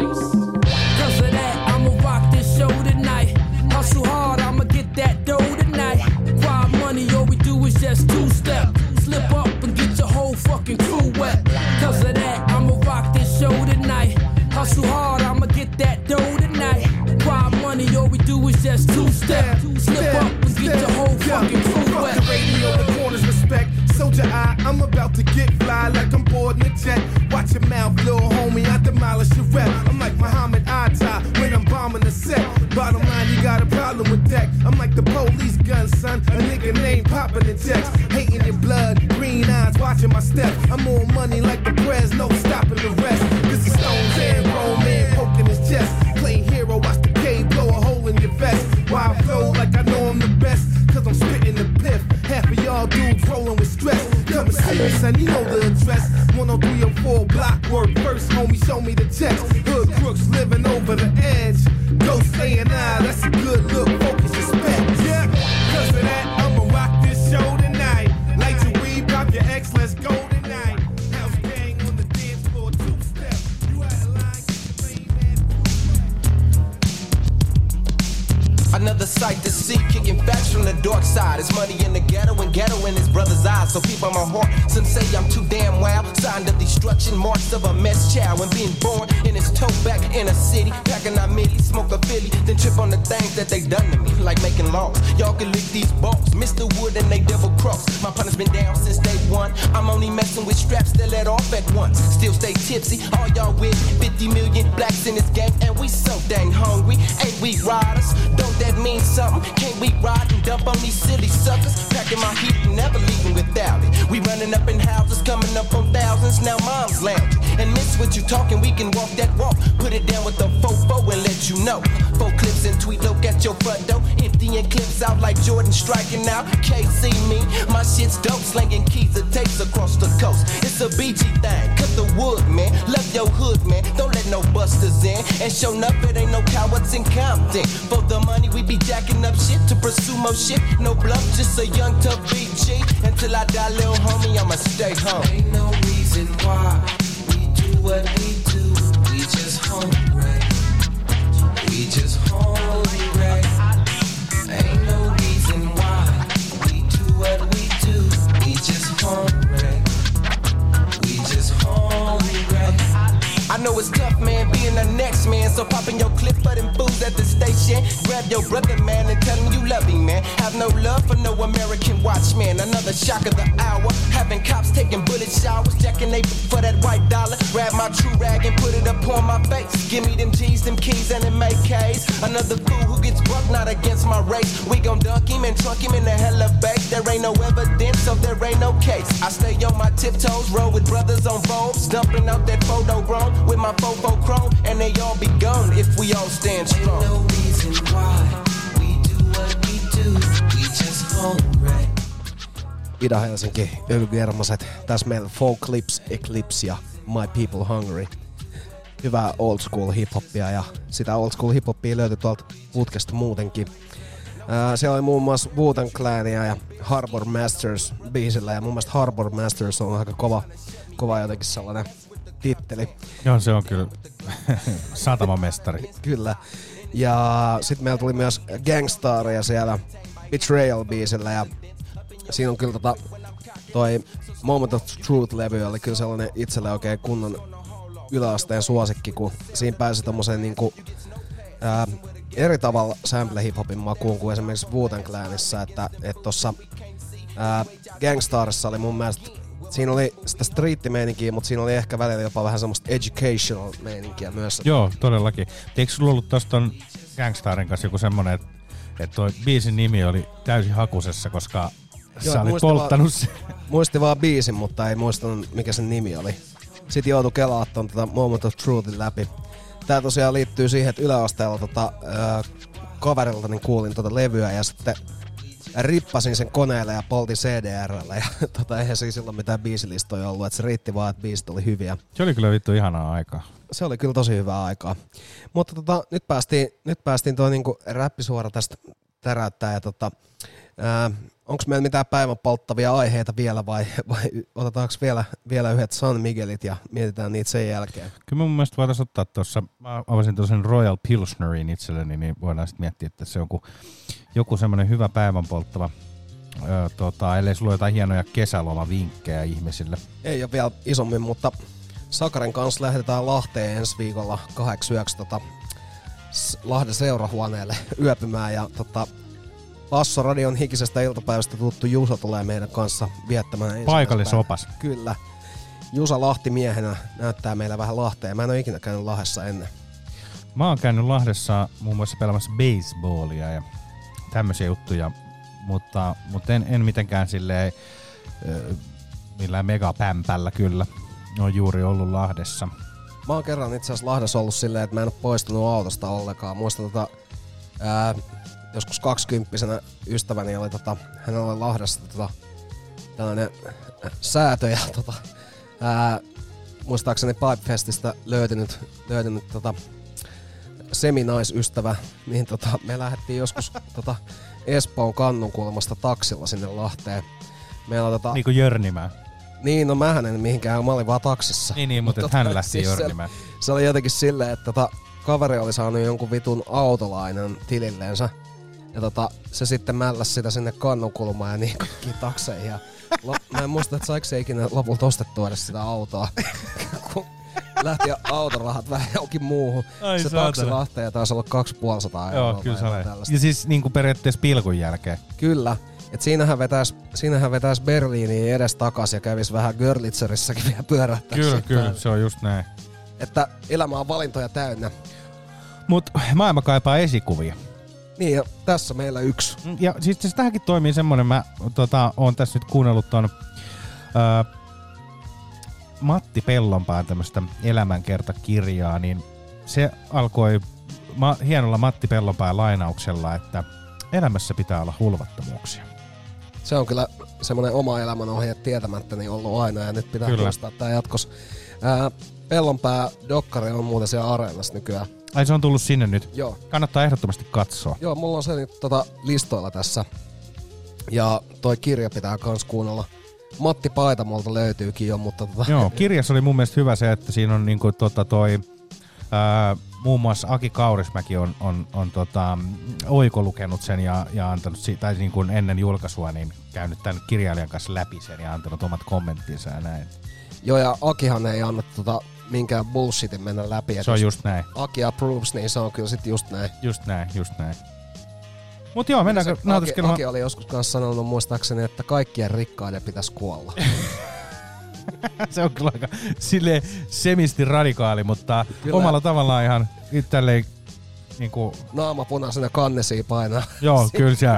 Cause of that, I'ma rock this show tonight. Hustle hard, I'ma get that dough tonight. Quiet money, all we do is just 2-step. Slip up and get your whole fucking crew wet. Cause of that, I'ma rock this show tonight. Hustle hard, I'ma get that dough tonight. Quiet money, all we do is just 2-step. Slip up and get your whole fucking crew wet. The radio, the corners respect. Soldier eye, I'm about to get fly like I'm boarding a jet. Watch your mouth, little homie, I demolish your rep. I'm like Muhammad Atta when I'm bombing the set. Bottom line, you got a problem with that. I'm like the police gun, son. A nigga named popping the checks. Hating your blood, green eyes, watching my step. I'm on money like the press, no stopping the rest. This is Stones and grown man poking his chest. Play hero, watch the K blow a hole in your vest. Why I flow like I know I'm the best. Cause I'm spitting the piff. Half of y'all dudes rolling with stress. Come and see me, son, you know the address. 10304 block work. First, homie, show me the checks. Hood crooks living over the edge. Ghost A&I, that's a good look. Focus, respect. Yeah, cause of that, I'ma rock this show tonight. Light your weed, pop your X, let's go tonight. House gang on the dance floor, 2-step. You out of line, Another sight to see, kicking facts from the dark side. It's money in the ghetto and ghetto in his brother's eyes. So people on my heart, some say I'm too damn wild. Signed of destruction, marks of a mess child. When being born in his toe back in a city, packing our milli, smoke a Philly, then trip on the things that they done to me, like making laws. Y'all can lick these balls, Mr. Wood and they double cross. My partner's been down since day one. I'm only messing with straps that let off at once. Still stay tipsy, all y'all with 50 million blacks in this game, and we so dang hungry. Ain't we riders? Don't that mean something? Can't we ride and dump on these silly suckers? Packing my heat and never leaving without it. We running up in houses, coming up on thousands. since now mom's lounge. And miss what you talking, we can walk that walk. Put it down with the fofo and let you know. 4 clips and tweet look at your front door. Emptying clips out like Jordan striking out. Can't see me, my shit's dope. Slanging keys and tapes across the coast. It's a BG thing, cut the wood, man. Love your hood, man. Don't let no busters in. And show enough, it ain't no cowards in Compton. For the money, we be jacking up shit to pursue more shit. No bluff, just a young tough BG. Until I die, little homie, I'ma stay home. Ain't no reason why we do what we do. We just hungry. We just hungry. Ain't no reason why we do what we do. We just hungry. We just hungry. I know it's tough, man, being the next man. So popping your clip for them fools at the station. Grab your brother, man, and tell him you love him, man. Have no love for no American watchman. Another shock of the hour. Having cops taking bullet showers. Jacking they for that white dollar. Grab my true rag and put it up on my face. Give me them G's, them keys, and them AKs. Another fool who gets bucked, not against my race. We gon' dunk him and trunk him in the hella base. There ain't no evidence, so there ain't no case. I stay on my tiptoes, roll with brothers on Vogues. Dumping out that photo grown with my fofo chrome. And they all be gone if we all stand strong. Ain't no reason why we do what we do. We just hungry. Ida-Helsinki, Ylviermaset. Tässä meillä 4 Clips, Eclipse ja My People Hungry. Hyvää old school hip-hoppia ja sitä old school hip-hoppia löytyi tuolta putkesta muutenkin. Siellä oli muun muassa Wu-Tang Clania ja Harbor Masters biisillä ja mun mielestä Harbor Masters on aika kova jotenkin sellainen titteli. Joo, se on kyllä satamamestari. Kyllä. Ja sit meillä tuli myös Gangstaria siellä Betrayal-biisillä ja siinä on kyllä toi Moment of Truth-levy oli kyllä sellainen itselle oikein kunnon yläasteen suosikki, kun siinä pääsi tommoseen niinku eri tavalla sample hiphopin makuun kuin esimerkiksi Wu-Tang Clanissa, että tossa Gangstarissa oli mun mielestä, siinä oli sitä street-meininkiä, mutta siinä oli ehkä välillä jopa vähän semmoista educational meininkiä myös. Joo, todellakin. Eikö sulla ollut tossa ton Gangstarin kanssa joku semmonen, että toi biisin nimi oli täysin hakusessa, koska sä olit polttanut sen? Muisti vaan biisin, mutta ei muistanut mikä sen nimi oli. Sitten joutui kelaa ton Moment of Truthin läpi. Tää tosiaan liittyy siihen, että yläasteella kaverilta niin kuulin levyä ja sitten rippasin sen koneelle ja poltin CDR:llä ja eihän se silloin mitään biisilistoja ollut, että se riitti vaan, että biisit oli hyviä. Se oli kyllä vittu ihanaa aikaa. Se oli kyllä tosi hyvää aikaa. Mutta nyt päästiin tuo niinku räppisuora tästä täräyttää ja onko meillä mitään päivän polttavia aiheita vielä vai otetaanko vielä yhdet San Miguelit ja mietitään niitä sen jälkeen? Kyllä mun mielestä voitaisiin ottaa tuossa, mä avasin tuollaisen Royal Pilsnerin itselleni, niin voidaan sitten miettiä, että se on joku semmoinen hyvä päivän polttava, ellei sulla ole jotain hienoja kesälomavinkkejä ihmisille. Ei ole vielä isommin, mutta Sakaren kanssa lähdetään Lahteen ensi viikolla 8 yöksi Lahden seurahuoneelle yöpymään ja Bassoradion hikisestä iltapäivästä tuttu Jusa tulee meidän kanssa viettämään paikallisopas. Kyllä. Jusa Lahti-miehenä näyttää meillä vähän Lahteen. Mä en ole ikinä käynyt Lahdessa ennen. Mä oon käynyt Lahdessa muun muassa pelaamassa baseballia ja tämmöisiä juttuja, mutta en mitenkään silleen millään megapämpällä kyllä. Oon juuri ollut Lahdessa. Mä oon kerran itse asiassa Lahdessa ollut silleen, että mä en oo poistunut autosta ollenkaan. Muistan joskus 20-vuotiaana ystäväni oli hänellä oli Lahdessa tällainen säätö ja muistaakseni Pipefestistä löytynyt seminaisystävä, niin me lähdettiin joskus Espoon Kannunkulmasta taksilla sinne Lahteen. Meillä niinku Jörnimään. Niin, no mähän en mihinkään, mä olin vaan taksissa. Niin, mutta hän lähti siis Jörnimään. Se oli jotenkin silleen, että kaveri oli saanut jonkun vitun autolainan tililleensä. Ja se sitten mälläsi sitä sinne Kannunkulmaan ja niin kaikkiin takseihin. Ja mä en muista, että saiko se ikinä lopulta ostettua edes sitä autoa. Kun lähti autorahat vähän johonkin muuhun. Ai se taksi Lahteen ja taisi olla 250 €. Joo, kyllä se oli. Ja siis niinku periaatteessa pilkun jälkeen. Kyllä. Et siinähän vetäis Berliiniin edes takas ja kävis vähän Görlitzerissäkin vielä pyörähtäessä. Kyllä, se on just näin. Että elämä on valintoja täynnä. Mut maailma kaipaa esikuvia. Niin, ja tässä meillä yksi. Ja siis tähänkin toimii semmonen, mä oon tässä nyt kuunnellut ton Matti Pellonpään tämmöistä elämänkertakirjaa, niin se alkoi hienolla Matti Pellonpään lainauksella, että elämässä pitää olla hulvattomuuksia. Se on kyllä semmoinen oma elämänohje tietämättäni ollut aina ja nyt pitää toistaa tää jatkossa. Pellonpää dokkari on muuten siellä Areenassa nykyään. Ai se on tullut sinne nyt? Joo. Kannattaa ehdottomasti katsoa. Joo, mulla on se nyt listoilla tässä. Ja toi kirja pitää kans kuunnella. Matti Paitamolta löytyykin jo, mutta Joo, kirjassa oli mun mielestä hyvä se, että siinä on niinku muun muassa Aki Kaurismäki on oikolukenut sen ja antanut, tai niin kuin ennen julkaisua, niin käynyt tämän kirjailijan kanssa läpi sen ja antanut omat kommenttinsa ja näin. Joo, ja Akihan ei anna minkään bullshitin mennä läpi. Se on just näin. Aki approves, niin se on kyllä sit just näin. Just näin. Mut joo, mennäänkö nautiskelemaan? Aki oli joskus kanssa sanonut muistaakseni, että kaikkien rikkaiden pitäisi kuolla. Se on kyllä aika silleen semisti radikaali, mutta kyllä. Omalla tavallaan ihan tälleen niinku... Naama punaisena kannesiin painaa. Joo, kyllä se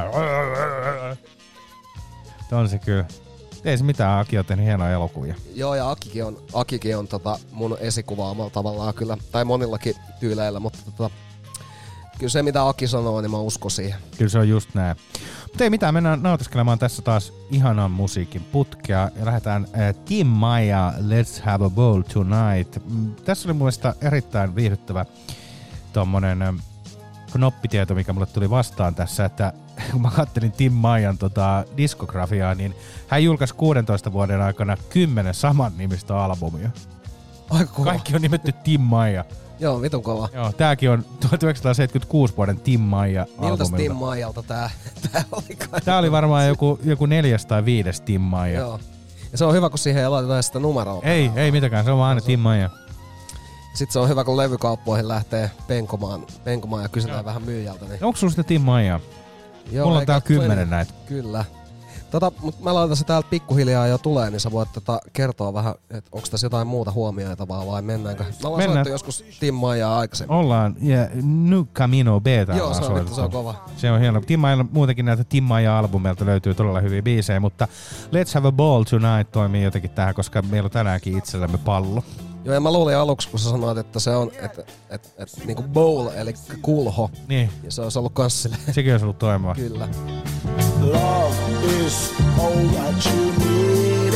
on se kyllä. Ei se mitään, Aki on tehnyt hienoja elokuvia. Joo, ja Akikin on mun esikuva omalla tavallaan kyllä, tai monillakin tyyleillä, mutta kyllä se mitä Aki sanoo, niin mä uskon siihen. Kyllä se on just näin. Mutta ei mitään, mennään nautiskelemaan tässä taas ihanan musiikin putkea ja lähdetään Tim Maia, Let's Have a Ball Tonight. Tässä oli mun mielestä erittäin viihdyttävä tommonen knoppitieto, mikä mulle tuli vastaan tässä, että kun mä kattelin Tim Maian diskografiaa, niin hän julkaisi 16 vuoden aikana 10 saman nimistä albumia. Aika kova. Kaikki on nimetty Tim Maia. Joo, vitun kova. Joo, tääkin on 1976 vuoden Tim Maia albumilta. Miltäs Tim Maialta tää oli? Tää oli varmaan joku 4. tai 5. Tim Maia. Joo. Ja se on hyvä, kun siihen ei laiteta sitä numeroa. Ei mitäkään, se on vaan aina Tim Maia. Sitten se on hyvä, kun levykauppoihin lähtee penkomaan ja kysytään vähän myyjältä. Niin... Onko sulla sitä Tim Maia? Joo, mulla on täällä 10 näitä. Kyllä. Mutta mä laitan se täältä pikkuhiljaa jo tulee, niin sä voit kertoa vähän, että onko tässä jotain muuta huomioitavaa vai mennäänkö? Me ollaan soittu joskus Tim Maiaa aikaisemmin. Ollaan, ja New Camino Beta. Joo, se on kova. Se on hieno. Tim Maia, muutenkin näitä Tim Maia-albumeilta löytyy todella hyviä biisejä, mutta Let's Have a Ball Tonight toimii jotenkin tähän, koska meillä on tänäänkin itsellämme pallo. Joo, ja mä luulin aluksi, kun sä sanoit, että se on niinku bowl, eli kulho. Niin. Ja se olisi ollut kans silleen. Sekin olisi ollut toimiva. Kyllä. Love is all that you need.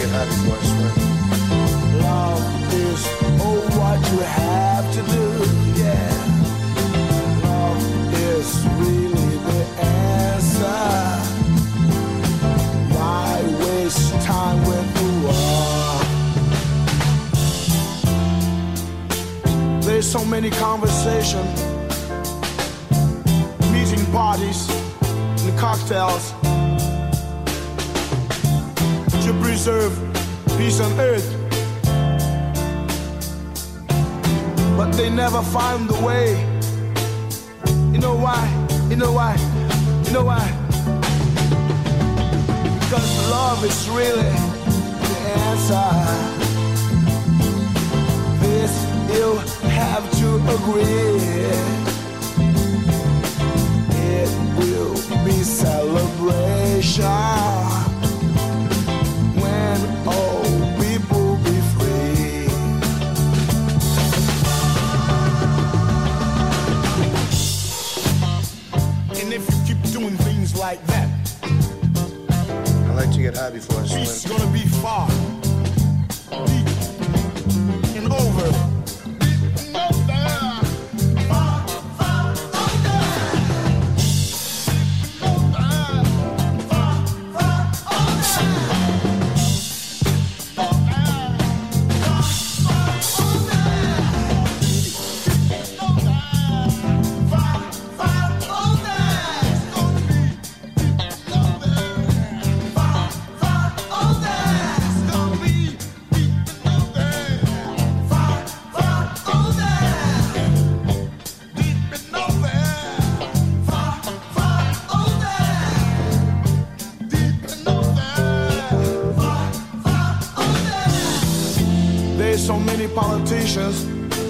Love is all what you have to do. Yeah. Love is really the answer. Why waste time with the war? There's so many conversations, meeting parties, and cocktails to preserve peace on earth, but they never find the way. You know why? You know why? You know why? Because love is really the answer. This you have to agree. It will be celebration when all people be free. And if you keep doing things like that, I like to get high before I swim. It's gonna be far, deep, and over. So many politicians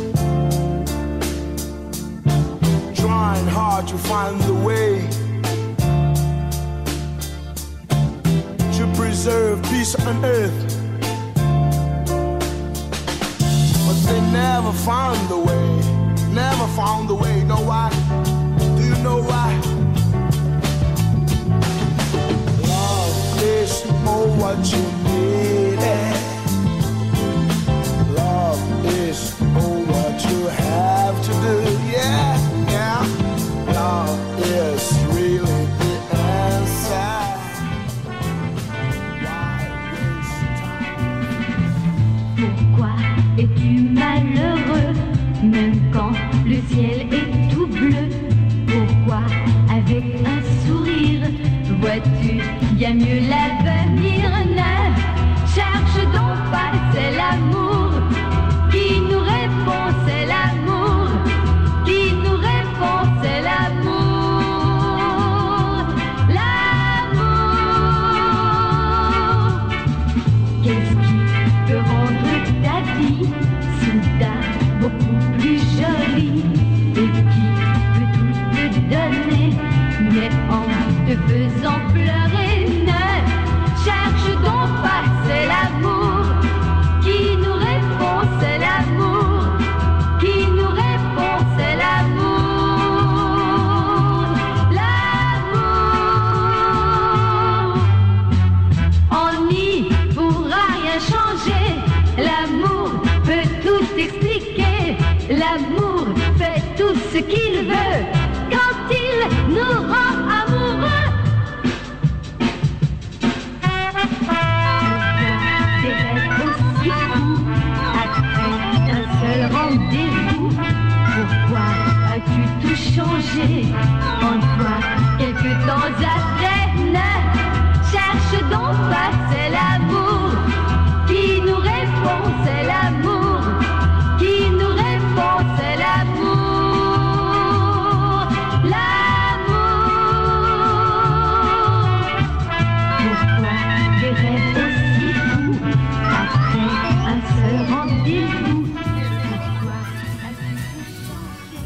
trying hard to find the way to preserve peace on earth, they never found the way. Never found the way. Know why? Do you know why? Love is more what you need. Love is more what you have to do. Yeah, yeah. Love is really the answer. Pourquoi es-tu malheureux, même quand le ciel est tout bleu? Pourquoi, avec un sourire, vois-tu bien mieux l'avenir? Ne cherche donc pas, c'est l'amour qui nous répond, c'est l'amour qui nous répond, c'est l'amour. L'amour, qu'est-ce qui peut rendre ta vie soudain beaucoup plus jolie, et qui peut tout te donner, mais en te faisant pleurer? Ne cherche donc pas, c'est l'amour qui nous répond, c'est l'amour qui nous répond, c'est l'amour. L'amour, on n'y pourra rien changer. L'amour peut tout expliquer. L'amour fait tout ce qu'il veut quand il nous rend amoureux. Des rêves aussi fous après un seul rendez-vous. Pourquoi as-tu tout changé en toi quelque temps après? Ne cherche donc pas, c'est l'amour qui nous répond, c'est l'amour qui nous répond, c'est l'amour. L'amour. Pourquoi des rêves aussi fous après un seul rendez-vous? Pourquoi as-tu tout changé?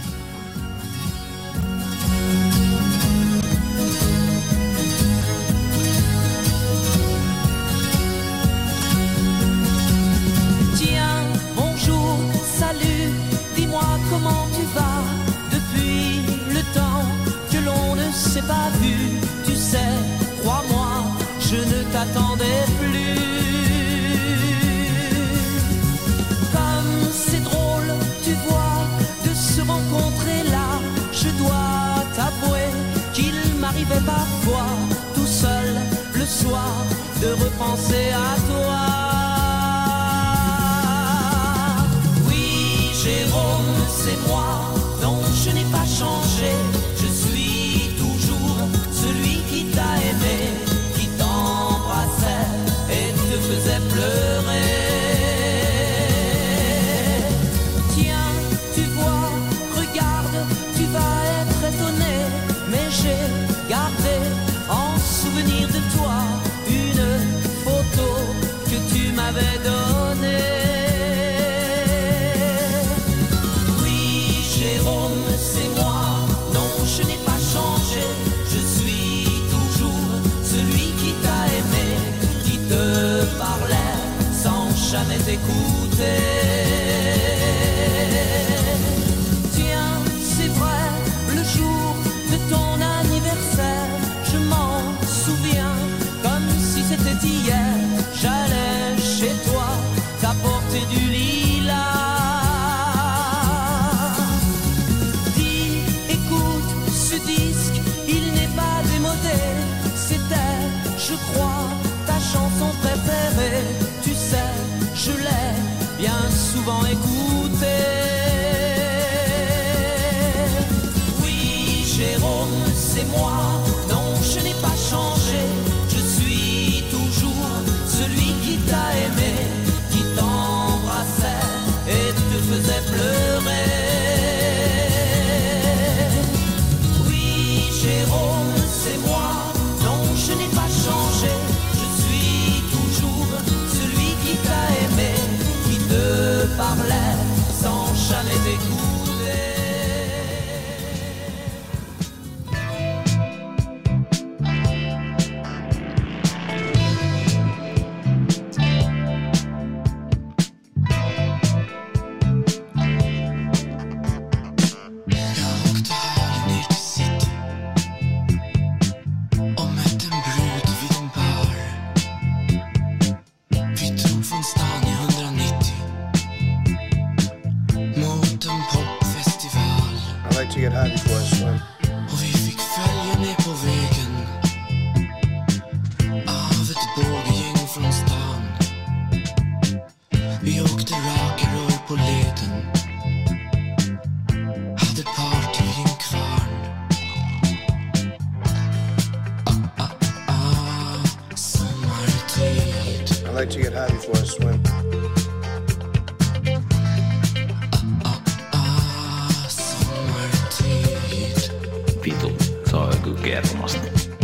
Tiens, bonjour, salut, dis-moi comment tu vas depuis le temps que l'on ne s'est pas vu. Tu sais, crois-moi, je ne t'attendais plus. Comme c'est drôle, tu vois, de se rencontrer là. Je dois t'avouer qu'il m'arrivait parfois, tout seul le soir, de repenser à toi. Jérôme, c'est moi, non, je n'ai pas changé. Je suis toujours celui qui t'a aimé, qui t'embrassait et te faisait pleurer. Tiens, tu vois, regarde, tu vas être étonné, mais j'ai gardé en souvenir de toi une photo que tu m'avais donnée. Jérôme, c'est moi, non, je n'ai pas changé. Je suis toujours celui qui t'a aimé, qui te parlait sans jamais t'écouter. Tiens, c'est vrai, le jour de ton anniversaire, je m'en souviens comme si c'était hier. J'allais chez toi t'apporter du lilas. C'était, je crois, ta chanson préférée. Tu sais, je l'ai bien souvent I like to get high before I swim. Vitu, se on joku kermasta.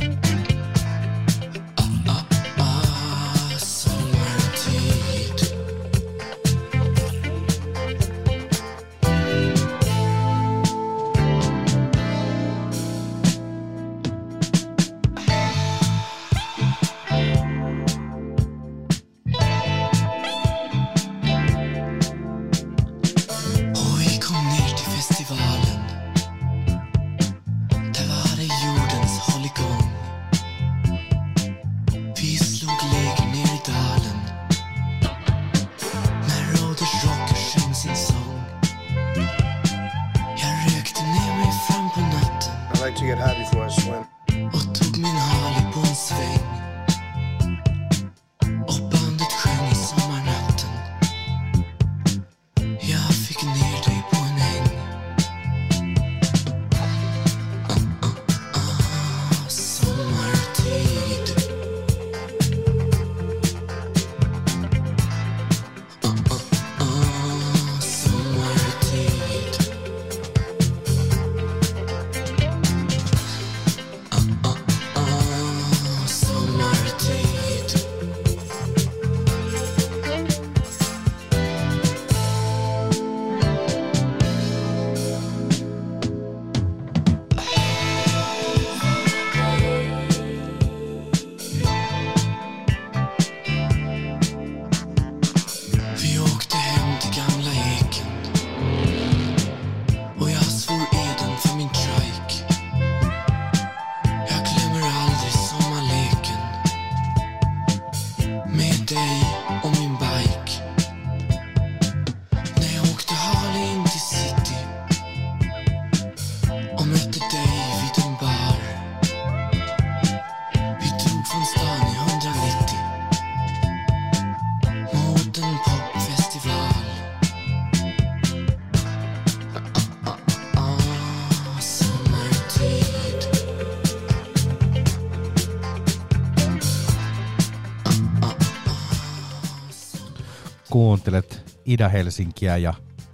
Kuuntelet Ida-Helsinkiä ja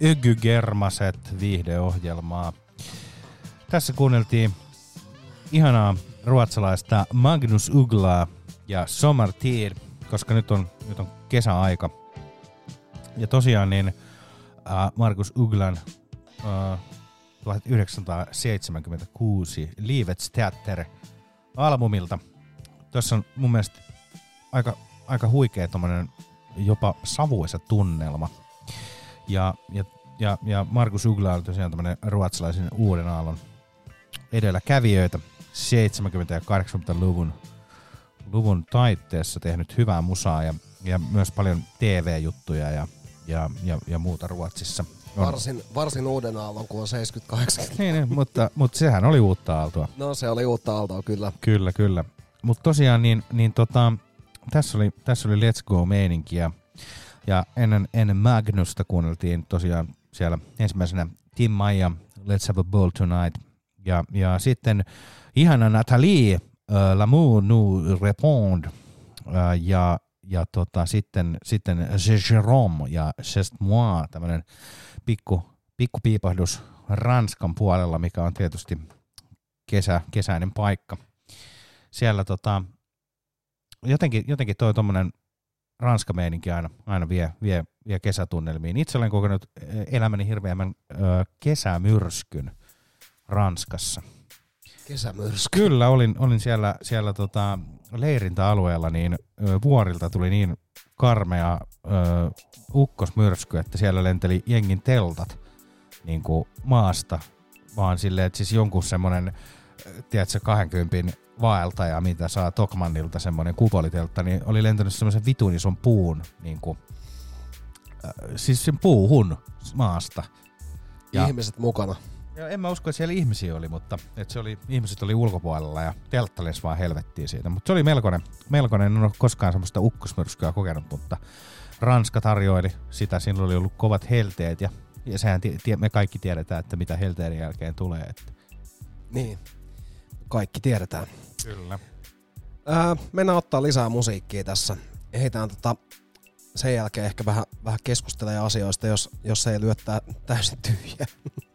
Ökygermaset viihdeohjelmaa. Tässä kuunneltiin ihanaa ruotsalaista Magnus Uglaa ja Sommartid, koska nyt on kesäaika. Ja tosiaan niin Markus Uglan 1976 Livets Teater-albumilta. Tässä on mun mielestä aika huikea tommonen jopa savuisa tunnelma. Ja Ja Markus Ugla on tosiaan tämmönen ruotsalaisen uuden aallon edelläkävijöitä 70- ja 80-luvun taitteessa tehnyt hyvää musaa ja myös paljon TV-juttuja ja muuta Ruotsissa. Varsin uuden aallon, kun on 70-80. Niin, mutta sehän oli uutta aaltoa. No se oli uutta aaltoa, kyllä. Kyllä. Mutta tosiaan tässä oli Let's Go-meininkiä. Ja ennen Magnusta kuunneltiin tosiaan siellä ensimmäisenä Tim Maija, Let's Have a Ball Tonight. Ja sitten ihana Nathalie, L'amour nous répond. Sitten Jérôme ja C'est moi, tämmönen pikku piipahdus Ranskan puolella, mikä on tietysti kesäinen paikka. Siellä jotenkin toi tommonen Ranska-meininki aina vie kesätunnelmiin. Itse olen kokenut elämäni hirveämmän kesämyrskyn Ranskassa. Kesämyrsky? Kyllä, olin siellä leirintäalueella, niin vuorilta tuli niin karmea ukkosmyrsky, että siellä lenteli jengin teltat niin kuin maasta, vaan silleen, että siis jonkun semmoinen, tiedätkö, 20 vaeltaja, mitä saa Tokmannilta semmoinen kupoliteltta, niin oli lentänyt semmoisen vitun ison puun, niin kuin, siis sen puuhun maasta. Ja ihmiset mukana. Ja en mä usko, että siellä ihmisiä oli, mutta että ihmiset oli ulkopuolella ja teltta lensi vaan helvettiin siitä. Mutta se oli melkoinen, en ole koskaan semmoista ukkosmyrskyä kokenut, mutta Ranska tarjoili sitä, siinä oli ollut kovat helteet ja sehän me kaikki tiedetään, että mitä helteiden jälkeen tulee. Että. Niin, kaikki tiedetään. Kyllä. Mennään ottaa lisää musiikkia tässä Ehditään sen jälkeen ehkä vähän keskustelee asioista, jos ei lyö täysin tyhjää.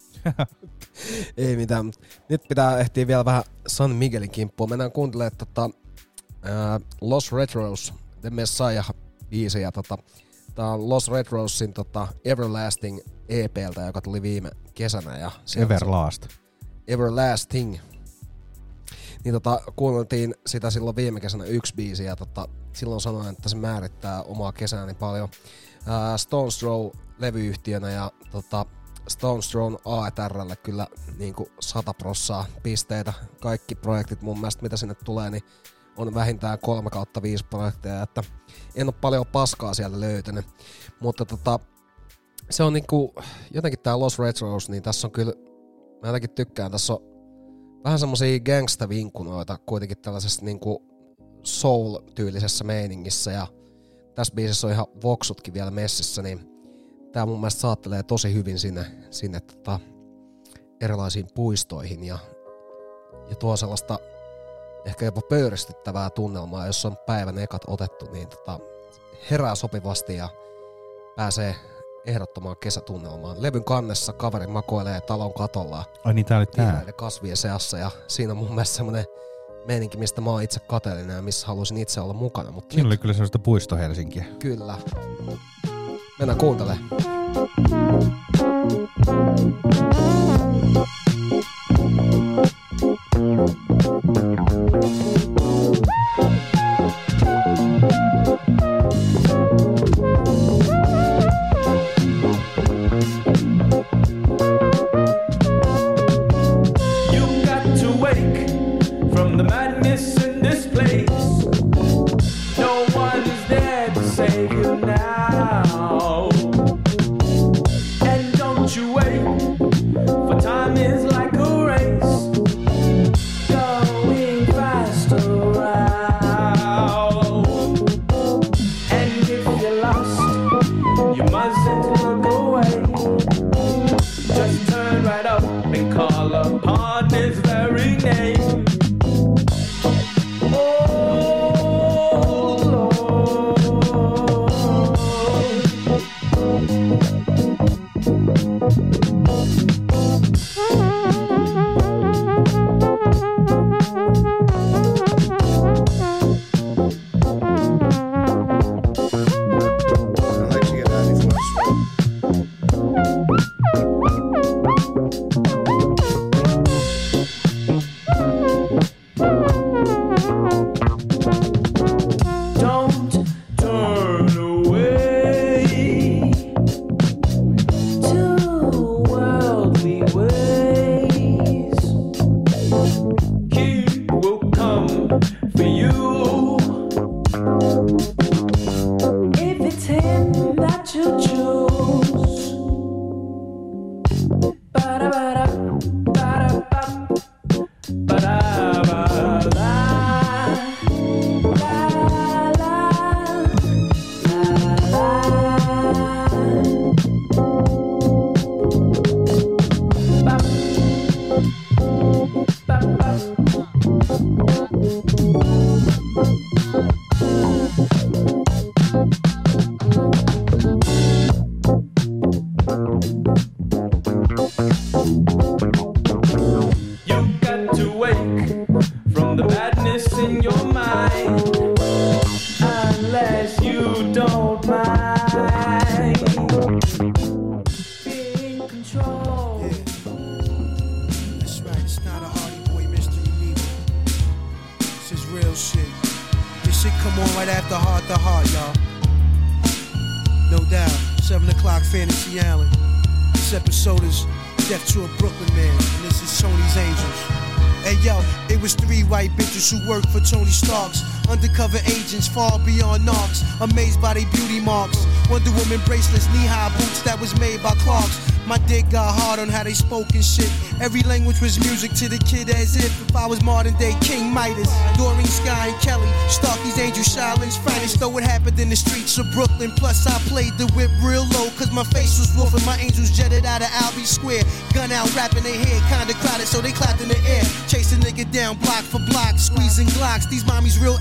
Ei mitään. Nyt pitää ehtiä vielä vähän San Miguelin kimppuun. Mennään kuuntelemaan Los Retros, The Messiah-biisi. Ja tää on Los Retrosin Everlasting EP:ltä, joka tuli viime kesänä. Ja Everlasting. Niin kuunneltiin sitä silloin viime kesänä yksi biisi ja silloin sanoin, että se määrittää omaa kesääni paljon. Stones Throw levyyhtiönä ja Stones Thrown A&R:lle kyllä niinku 100% pisteitä. Kaikki projektit mun mielestä, mitä sinne tulee, niin on vähintään 3/5 projekteja, että en oo paljon paskaa sieltä löytänyt. Mutta se on niinku, jotenkin tää Los Retros, niin tässä on kyllä, mä jotenkin tykkään, tässä on vähän semmosia gangsta-vinkunoita kuitenkin tällaisessa niinku soul-tyylisessä meiningissä ja tässä biisissä on ihan voksutkin vielä messissä, niin tää mun mielestä saattelee tosi hyvin sinne erilaisiin puistoihin ja tuo sellaista ehkä jopa pöyristyttävää tunnelmaa, jos on päivän ekat otettu, niin herää sopivasti ja pääsee ehdottomaan kesätunnelmaan. Levyn kannessa kaveri makoilee talon katolla. Ai niin, tää oli tää. Kasvien seassa ja siinä on mun mielestä semmonen meininki, mistä mä oon itse kateellinen ja missä haluaisin itse olla mukana. Mutta siinä oli kyllä sellaista puisto Helsinkiä. Kyllä. Mennään kuuntelemaan. Who work for Tony Stark's undercover agents far beyond knocks, amazed by their beauty marks. Wonder Woman bracelets, knee-high boots that was made by Clarks. My dick got hard on how they spoke and shit. Every language was music to the kid as if I was modern day King Midas. Doreen, Sky, and Kelly, Starky's Angel, Shilo's finest. Though it happened in the streets of Brooklyn. Plus I played the whip real low, cause my face was wolf and my angels jetted out of Albee Square. Gun out, rapping their head, kinda crowded, so they clapped in the air. Chase a nigga down block for block, squeezing Glocks. These mommies real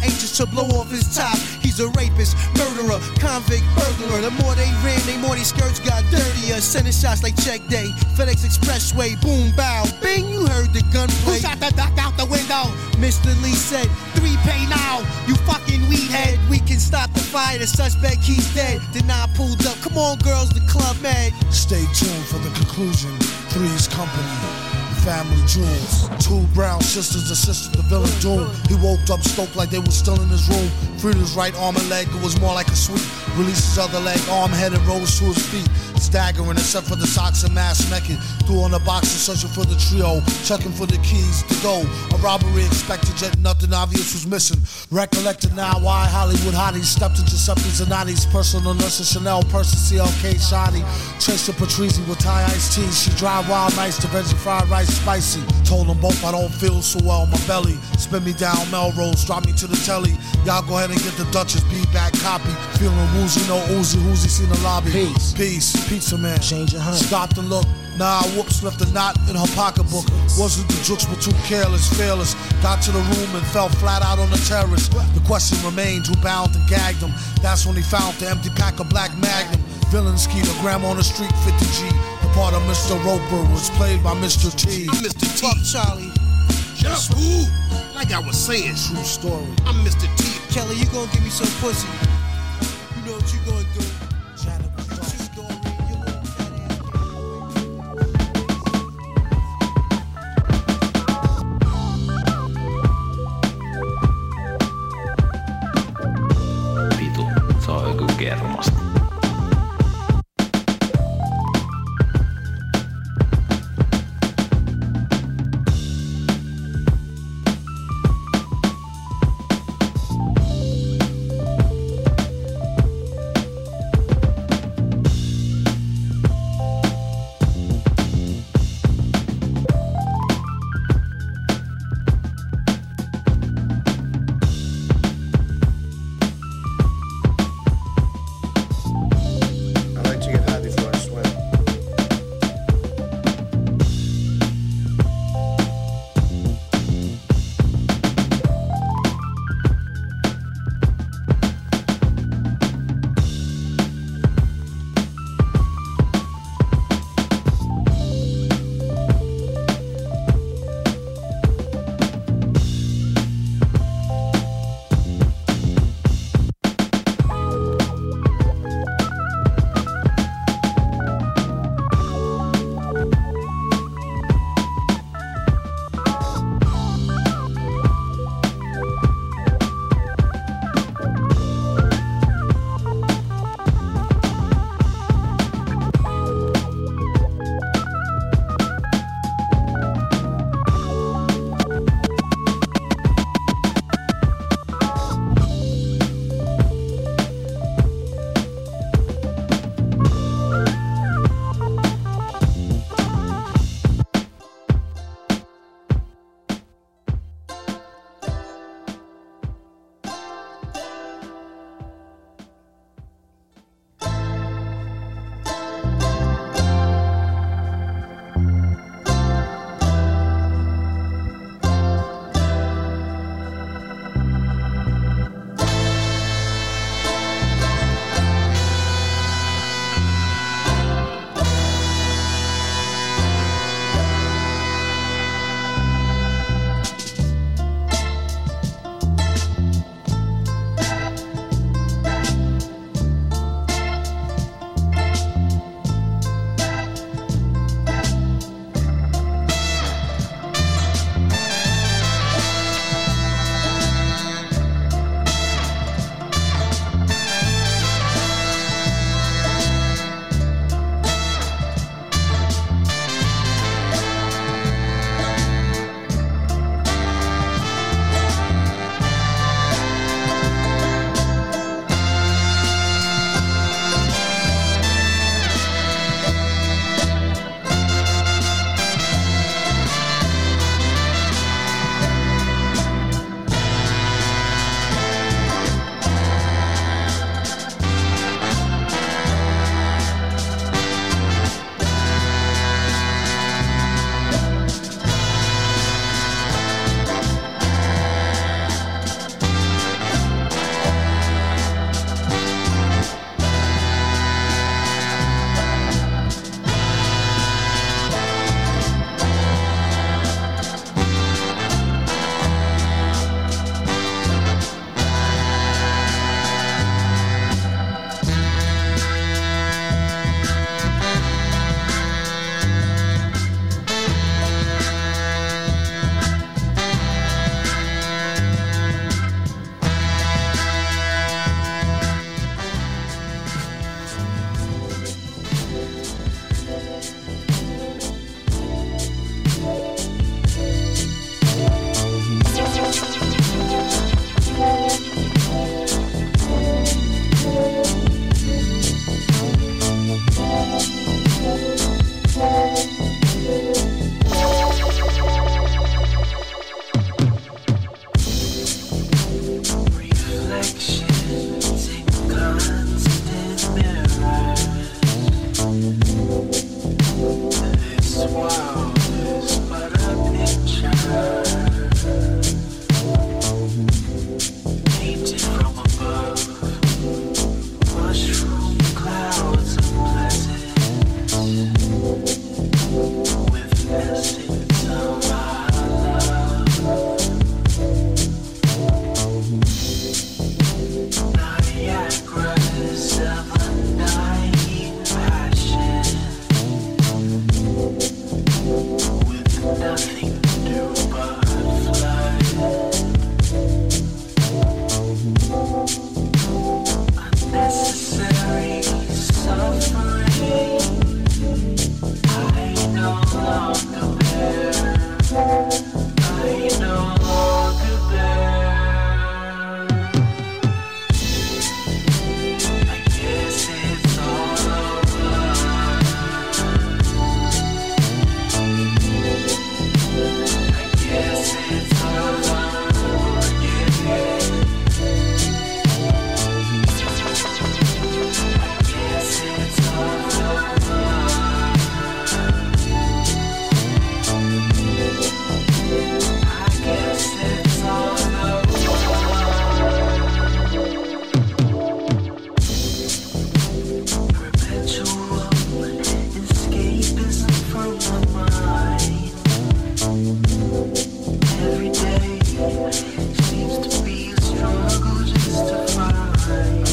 just to blow off his top. He's a rapist, murderer, convict, burglar. The more they ran, the more these skirts got dirtier. Sending shots like check day, FedEx Expressway, boom, bow, bing, you heard the gunplay. Who shot the duck out the window? Mr. Lee said, 3 pay now, you fucking weed head. we can stop the fire, the suspect, he's dead. Then I pulled up, come on girls, the club mad. Stay tuned for the conclusion. Three's Company, family jewels. 2 brown sisters assisted the villain Doom. He woke up stoked like they were still in his room. Freed his right arm and leg, it was more like a sweep. Released his other leg, arm, head, and rose to his feet. Staggering except for the socks and mask naked. Threw on the box and searching for the trio. Checking for the keys to go. A robbery expected, yet nothing obvious was missing. Recollected now why Hollywood hotties stepped into Giuseppe Zanotti's personal nurse, Chanel person, CLK Shoddy. Traced to Patrizzi with Thai iced tea. She dried wild nights to veggie fried rice spicy. Told them both I don't feel so well in my belly. Spin me down Melrose, drop me to the telly. Y'all go ahead and get the Duchess B-back copy. Feeling woozy, no Uzi, who's seen the lobby. Peace, pizza man. Change your honey. Stopped and looked. Nah, whoops, left a knot in her pocketbook. Wasn't the jokes, but too careless, fearless. Got to the room and fell flat out on the terrace. The question remained, who bound and gagged him? That's when he found the empty pack of Black Magnum. Villain skeeter, grandma on the street, 50G. The part of Mr. Roper was played by Mr. T. I'm Mr. T. Fuck Charlie. Shut up, fool. Like I was saying. True story. I'm Mr. T. Kelly, you gonna give me some pussy. You know what you gonna do. Vitu, se on joku kermasta.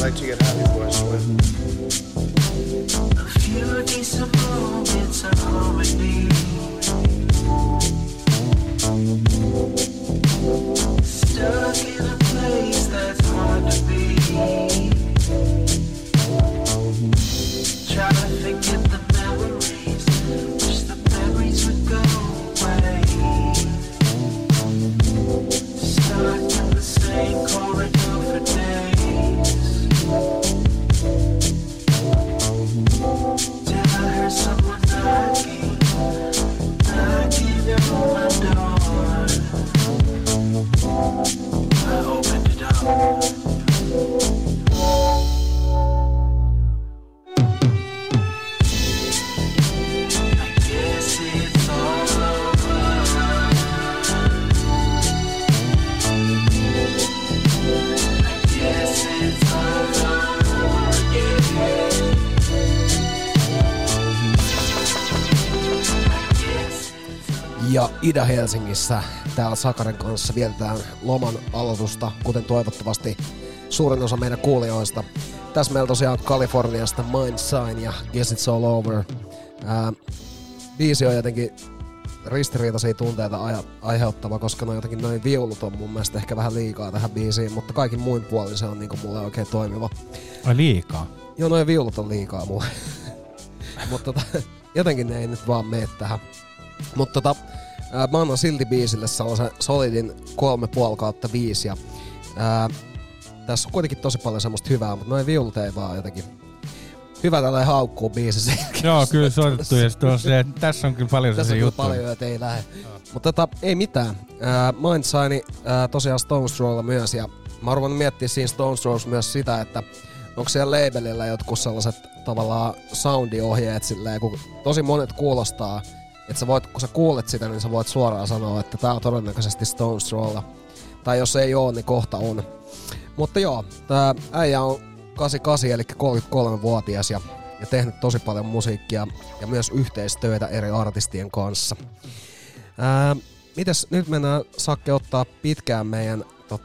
like to get happy before I swim. A few decent moments of harmony. Stuck in a place that's hard to be. Try to forget the memories, wish the memories would go away. Stuck in the same corridor for days. Till I heard someone knocking on my door. I opened it up. Ja Ida-Helsingissä täällä Sakaren kanssa vietetään loman aloitusta, kuten toivottavasti suurin osa meidän kuulijoista. Tässä meillä tosiaan Kaliforniasta Mind Sign ja Guess It's All Over. Biisi on jotenkin ristiriitaisia tunteita aiheuttava, koska noin viulut on mun mielestä ehkä vähän liikaa tähän biisiin, mutta kaikin muin puolin se on niinku mulle oikein toimiva. Ai liikaa? Joo, noin viulut on liikaa mulle. Mutta jotenkin ne ei nyt vaan mene tähän. Mutta mä annan silti biisille sellaisen solidin 3,5/5 ja tässä on kuitenkin tosi paljon semmoista hyvää, mutta noin viulut ei vaan jotenkin hyvä tällainen haukkuu biisissä. Joo, kyllä soitettu ja tässä on kyllä paljon tässä on juttu. paljon, että ei lähde. Mutta ei mitään. Mind Sign tosiaan Stone Throwlla myös ja mä oon miettiä siinä Stone Throws myös sitä, että onko siellä labelillä jotkut sellaiset tavallaan soundiohjeet silleen, kun tosi monet kuulostaa, että sä voit, kun sä kuulet sitä, niin sä voit suoraan sanoa, että tää on todennäköisesti Stone Throwlla. Tai jos ei oo, niin kohta on. Mutta joo, tää äijä on 88, eli 33-vuotias ja tehnyt tosi paljon musiikkia ja myös yhteistöitä eri artistien kanssa. Mites nyt mennään Sakke ottaa pitkään meidän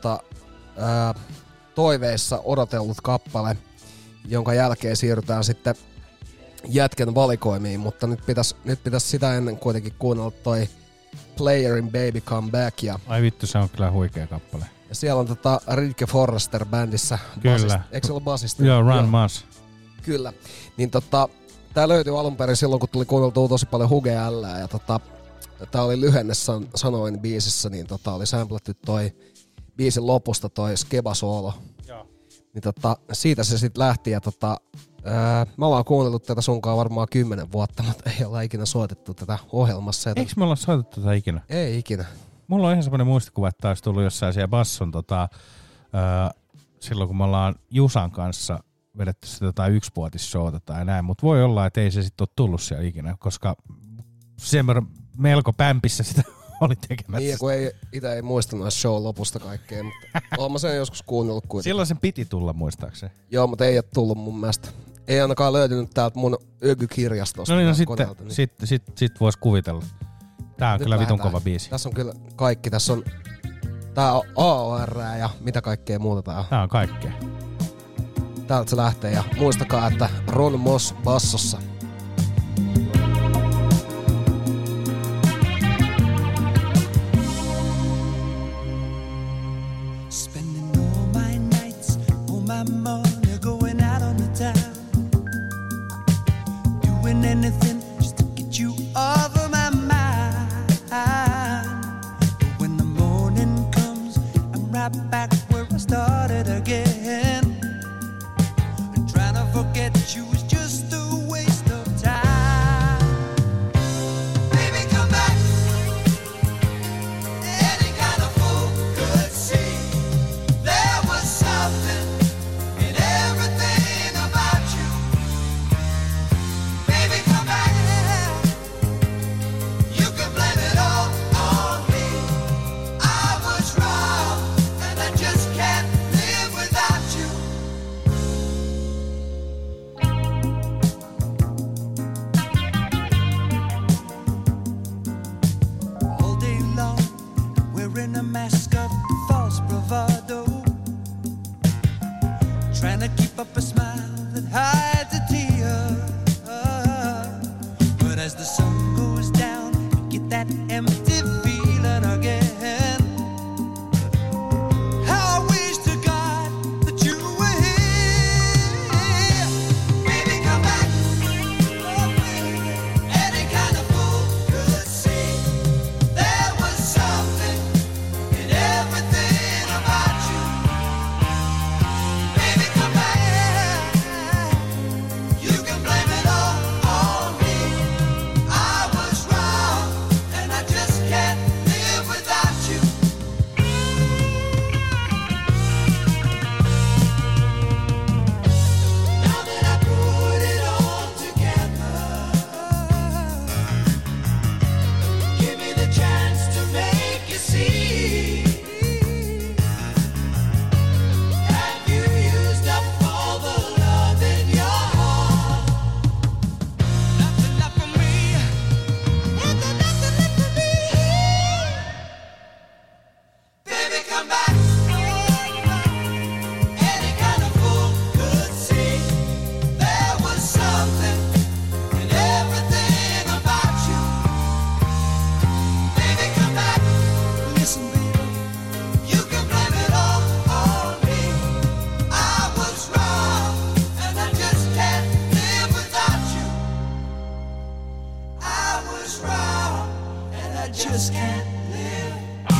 toiveissa odotellut kappale, jonka jälkeen siirrytään sitten jätkän valikoimiin, mutta nyt pitäisi sitä ennen kuitenkin kuunnella toi Playerin Baby Come Back. Ja ai vittu, se on kyllä huikea kappale. Ja siellä on Ridke Forrester bändissä. Kyllä. Eikö se ole basisti? Joo, Run Mas. Kyllä. Niin tää löytyi alun perin silloin, kun tuli kuunneltua tosi paljon Huge L:ää ja tää oli lyhenne sanoin biisissä, niin oli sampletty toi biisin lopusta toi Skeba-soolo. Joo. Niin siitä se sitten lähti ja mä oon kuunnellut tätä sunkaan varmaan 10 vuotta, mutta ei olla ikinä soitettu tätä ohjelmassa. Eikö me olla soitettu tätä ikinä? Ei ikinä. Mulla on ihan semmoinen muistikuva, että olisi tullut jossain siellä basson silloin kun me ollaan Jusan kanssa vedetty sitä jotain yksivuotisshowta tai näin, mutta voi olla, että ei se sitten ole tullut siellä ikinä, koska sen melko pämpissä sitä oli tekemässä. Niin, kun itse ei muista noista show lopusta kaikkea, mutta oon mä sen joskus kuunnellut kuitenkin. Silloin sen piti tulla, muistaakseni. Joo, mutta ei ole tullut mun mielestä. Ei ainakaan löytynyt täältä mun Ögy-kirjastosta. No niin, sitten vois kuvitella. Tää on nyt kyllä vitun kova biisi. Tässä on kyllä kaikki. Tässä on tää on AOR ja mitä kaikkea muuta tää on. Tää on kaikkea. Täältä se lähtee ja muistakaa, että Ron Moss bassossa. Spending all my nights, all my money going out on the town. Doing anything just to get you off of my mind. But when the morning comes, I'm right back where I started again. And trying to forget you is just a waste of time. Baby, come back. Any kind of fool could see there was something in everything about you. Baby, come back. You can blame it all on me. I was wrong, and I just can't live without you. up a smile that hides a tear. But as the sun goes down, you get that empty feeling again. How I wish to God that you were here. Baby, come back. Oh, baby. Any kind of fool could see there was something in everything about you. Baby, come back. You can blame it all on me. I was wrong, and I just can't live without you. Now that I put it all together, give me the chance to make you see. Have you used up all the love in your heart? Nothing left for me. Nothing left for me. Baby, come back. Any kind of fool could see there was something in everything about you. Baby, come back. Listen, baby, you can blame it all on me. I was wrong, and I just can't live without you. I was wrong, and I just can't live.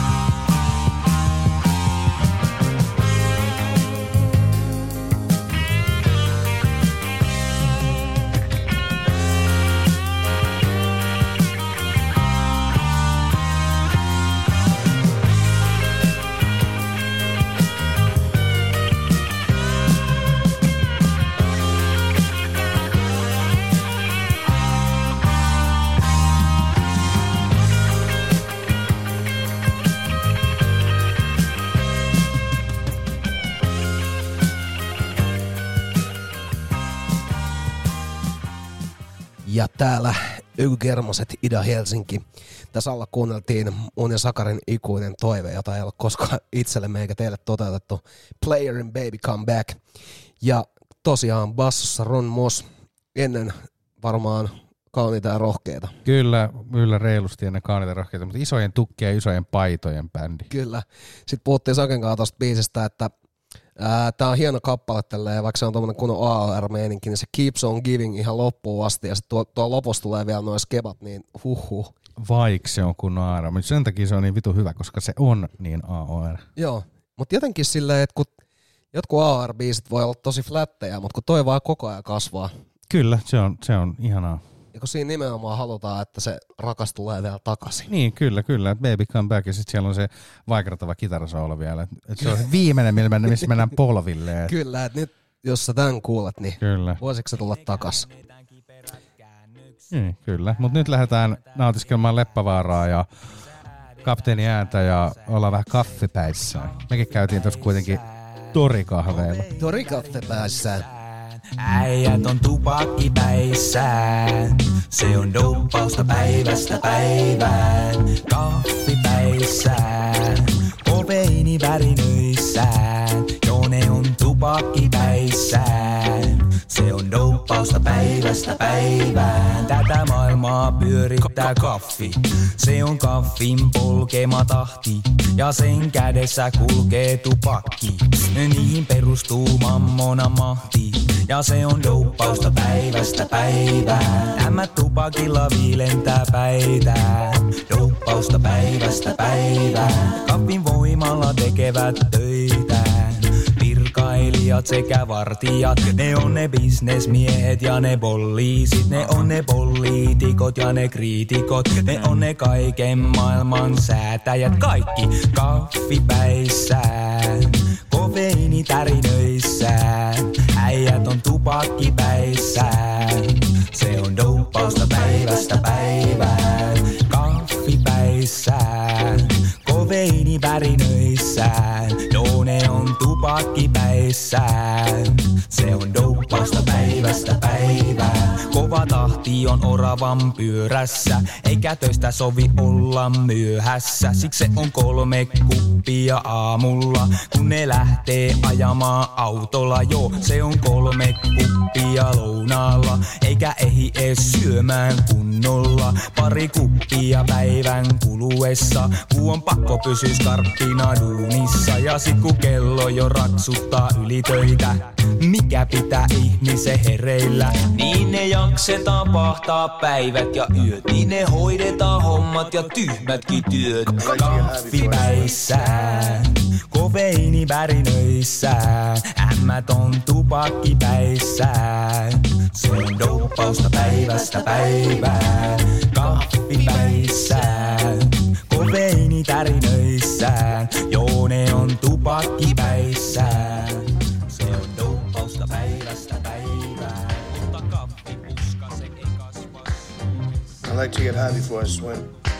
Ja täällä Ygermoset Ida-Helsinki. Tässä alla kuunneltiin mun ja Sakarin ikuinen toive, jota ei ole koskaan itsellemme eikä teille toteutettu. Playerin Baby Come Back. Ja tosiaan bassossa Ron Moss, ennen varmaan kauniita ja rohkeita. Kyllä reilusti ennen kauniita ja rohkeita, mutta isojen tukkien ja isojen paitojen bändi. Kyllä. Sitten puhuttiin Saken kanssa tosta biisistä, että tää on hieno kappale tälleen, vaikka se on tommonen kunnon AOR-meininki, niin se keeps on giving ihan loppuun asti, ja sitten tuo lopussa tulee vielä noin skebat, niin huhhuh. Vaikka se on kunnon AOR, mutta sen takia se on niin vitu hyvä, koska se on niin AOR. Joo, mutta jotenkin silleen, että kun jotkut AOR-biisit voi olla tosi flättejä, mutta kun toi vaan koko ajan kasvaa. Kyllä, se on ihanaa. Ja kun siinä nimenomaan halutaan, että se rakas tulee vielä takaisin. Niin, kyllä. Baby Come Back, ja sitten siellä on se vaikertava kitarasoolo vielä. Et se on se viimeinen, missä mennään polville. Kyllä, että nyt jos sä tän kuulet, niin kyllä. Voisitko sä tulla takas? Niin, kyllä. Mutta nyt lähdetään nautiskelmaan Leppävaaraa ja kapteeni ääntä ja ollaan vähän kaffepäissään. Mekin käytiin tuossa kuitenkin torikahveilla. Torikahvepäissään. Äijät on tupakkipäissään, se on douppausta päivästä päivään. Kahvipäissään, kofeiini värinöissään, joo ne on tupakkipäissään. Se on douppausta päivästä päivään. Tätä maailmaa pyörittää kaffi. Se on kaffin polkema tahti. Ja sen kädessä kulkee tupakki. Niihin perustuu mammona mahti. Ja se on douppausta päivästä päivään. Tämä tupakilla viilentää päitään. Douppausta päivästä päivään. Kaffin voimalla tekevät töitään. Virkailijat sekä vartijat, ne on ne bisnesmiehet ja ne poliisit, ne on ne poliitikot ja ne kriitikot, ne on ne kaiken maailman säätäjät, kaikki kahvipäissään, kofeiini tärinöissään, äijät on tupakkipäissään, se on douppausta päivästä päivään, kahvipäissään, kofeiini värinöissään, joo ne on tupakkipäissään. Se on douppausta päivästä päivään. Kova tahti tahti on oravan pyörässä, eikä töistä sovi olla myöhässä. Siksi se on 3 kuppia aamulla, kun ne lähtee ajamaan autolla. Joo, se on 3 kuppia lounaalla, eikä ehdi ees syömään kunnolla. 2 kuppia päivän kuluessa, kun on pakko pysyä skarppina duunissa. Ja sit kun kello jo raksuttaa ylitöitä, mikä pitää ihmisen hereillä? Niin ne jaksetaan pahtaa päivät ja yöt, niin ne hoidetaan hommat ja tyhmätkin työt. Kahvipäissään, kofeiini värinöissään, ämmät on tupakkipäissään. Se on douppausta päivästä päivään. Kahvipäissään, kofeiini tärinöissään, joo ne on tupakkipäissään. Se on douppausta päivästä päivään. Ota kahvipuska, se ei kasva. I like to get high before I swim.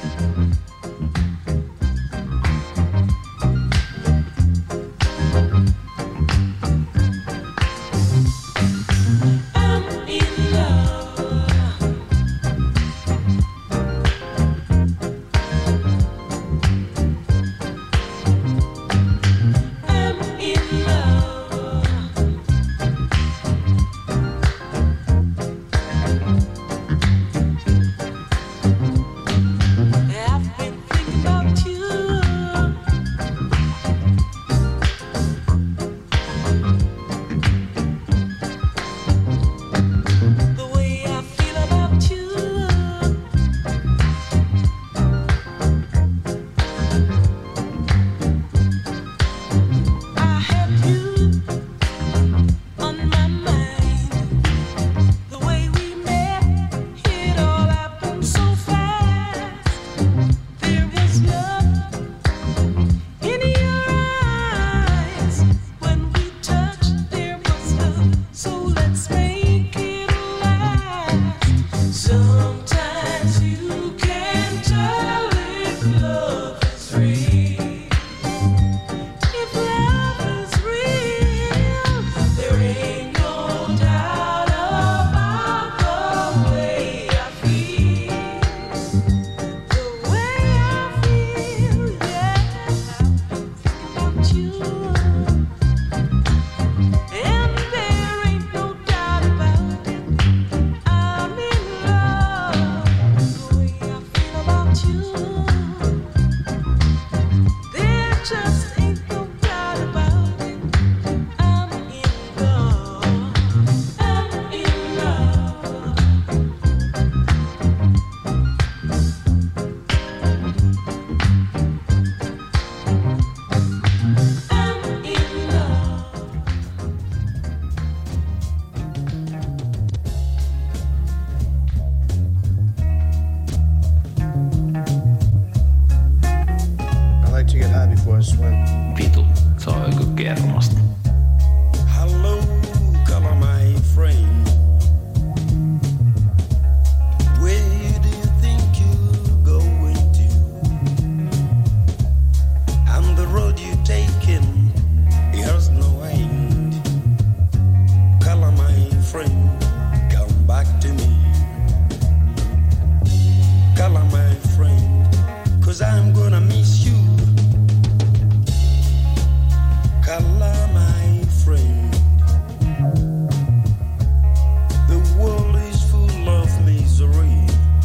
Vitu, se on joku kermasta. Hello, color my friend. Where do you think you're going to? And the road you're taking, it has no end. Color my friend, come back to me. Color my friend, 'cause I'm gonna miss you. Color my friend, the world is full of misery,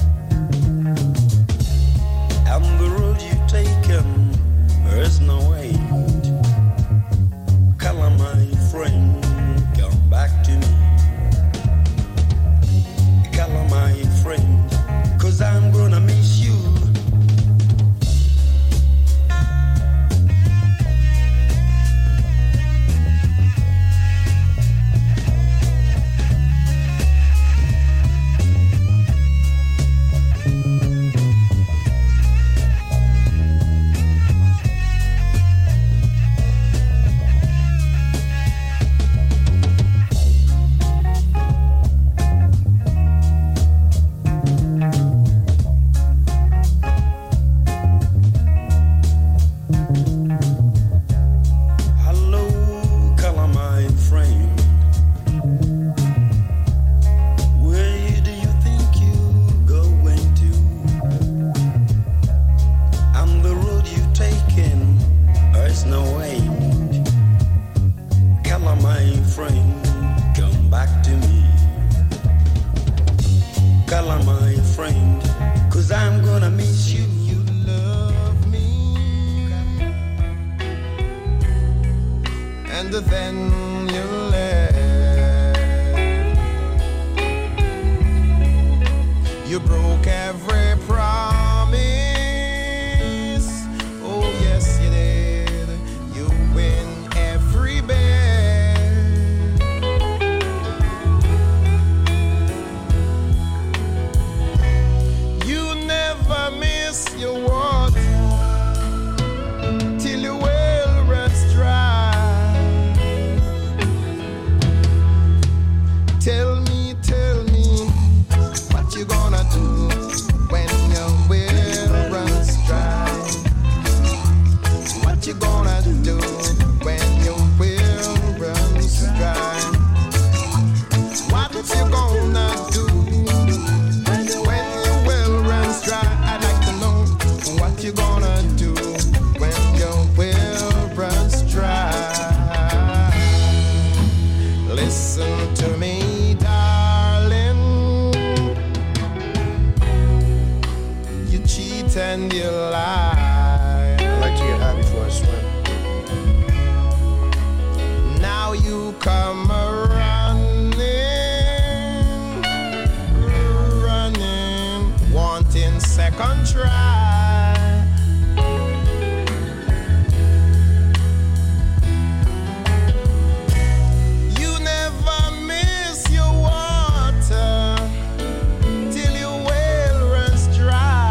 and the road you've taken, there's no end. Color my friend, come back to me. and you lie. I like to get high before I swim. Now you come running, wanting second try. You never miss your water till your well runs dry.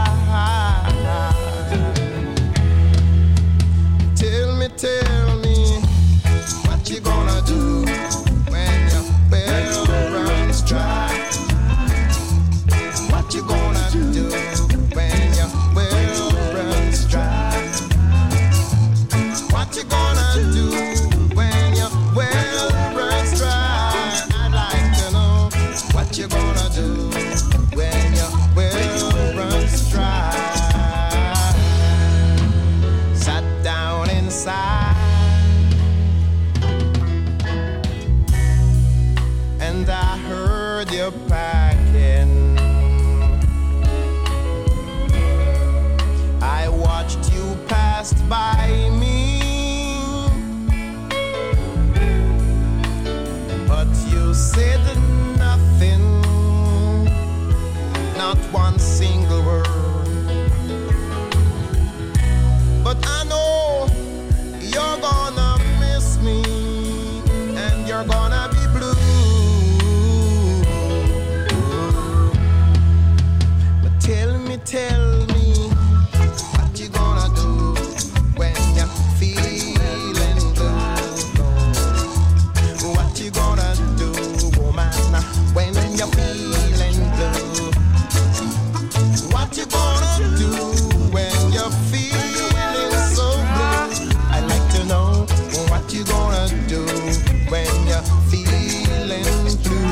Tell me, what you gonna do when your well runs dry? What you gonna do when your well runs dry? What you gonna do when your well runs dry? I'd like to know what you gonna do when your well runs dry. Sat down inside and I heard you packing. I watched you pass by me, but you said nothing, not one single word. But I know you're gonna miss me and you're gonna be blue. But tell me, what you gonna do when you're feeling blue? What you gonna do, woman, when you're feeling blue? What you gonna do when you're feeling so blue? I'd like to know what you gonna do when you're feeling blue.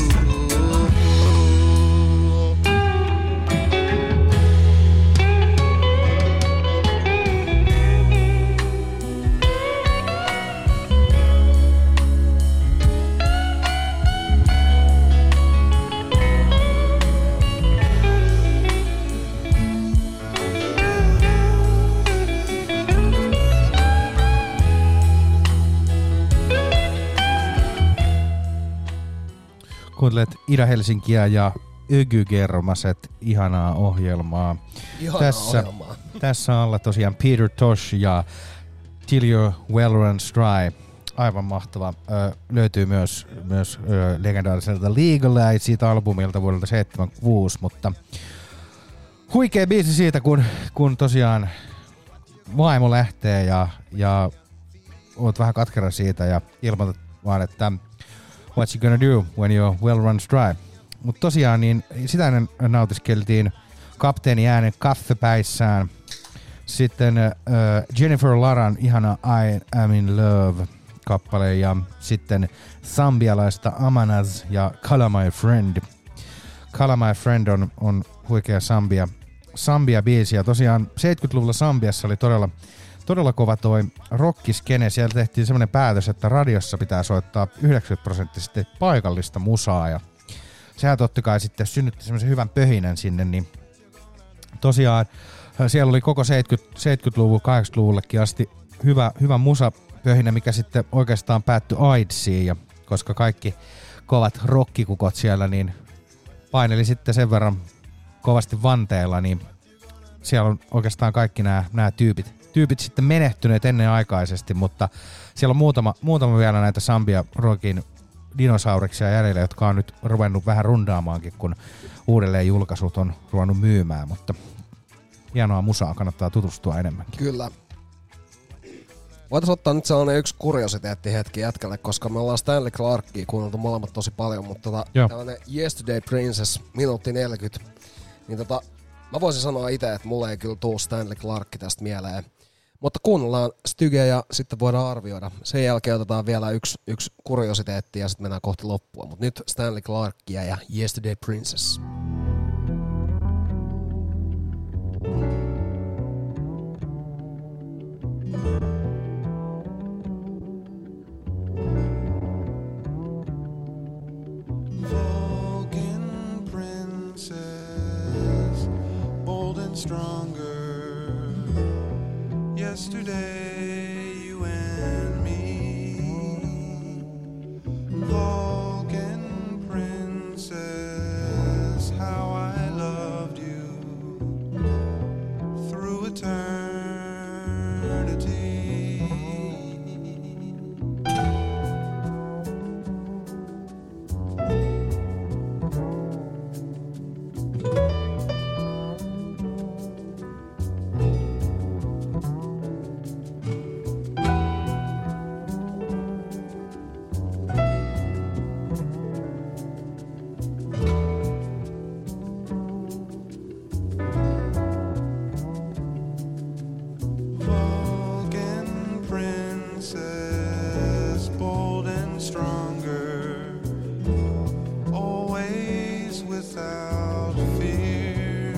Kuuntelet Ida-Helsinkiä ja Ökygermaset, ihanaa ohjelmaa. Tässä alla tosiaan Peter Tosh ja Till Your Well Runs Dry. Aivan mahtava. Löytyy myös legendaariselta Legal siitä albumilta vuodelta 1976, mutta huikea biisi siitä, kun tosiaan vaimo lähtee ja oot vähän katkera siitä ja ilmoitat vaan, että what you gonna do when your well runs dry. Mutta tosiaan niin sitä ennen nautiskeltiin kapteeni äänen kaffepäissään. Sitten Jennifer Laran ihana I Am In Love -kappale ja sitten zambialaista Amanaz ja Call My Friend. Call My Friend on huikea Zambia-biisi ja tosiaan 70-luvulla Zambiassa oli todella kova toi rockiskene. Siellä tehtiin semmoinen päätös, että radiossa pitää soittaa 90% paikallista musaa ja sehän totta kai sitten synnytti semmoisen hyvän pöhinän sinne, niin tosiaan siellä oli koko 70-luvun, 80-luvullekin asti hyvä musapöhinä, mikä sitten oikeastaan päättyi AIDSiin, ja koska kaikki kovat rockikukot siellä niin paineli sitten sen verran kovasti vanteella, niin siellä on oikeastaan kaikki nämä tyypit sitten menehtyneet ennenaikaisesti, mutta siellä on muutama vielä näitä Zambia rockin dinosauriksia jäljellä, jotka on nyt ruvennut vähän rundaamaankin, kun uudelleen julkaisut on ruvennut myymään, mutta hienoa musaa, kannattaa tutustua enemmänkin. Kyllä. Voitaisiin ottaa nyt sellainen yksi kuriositeetti hetki jätkälle, koska me ollaan Stanley Clarkia kuunneltu molemmat tosi paljon, mutta tällainen Yesterday Princess, minuutti 40, niin mä voisin sanoa itse, että mulle ei kyllä tuu Stanley Clarkki tästä mieleen. Mutta kuunnellaan Stygeä ja sitten voidaan arvioida. Sen jälkeen otetaan vielä yksi kuriositeetti ja sitten mennään kohti loppua. Mutta nyt Stanley Clarkia ja Yesterday Princess. Vulcan princess, bold and stronger. yesterday, you and me. Vulcan princess, how I loved you through eternity. Vulcan princess, bold and stronger, always without fear.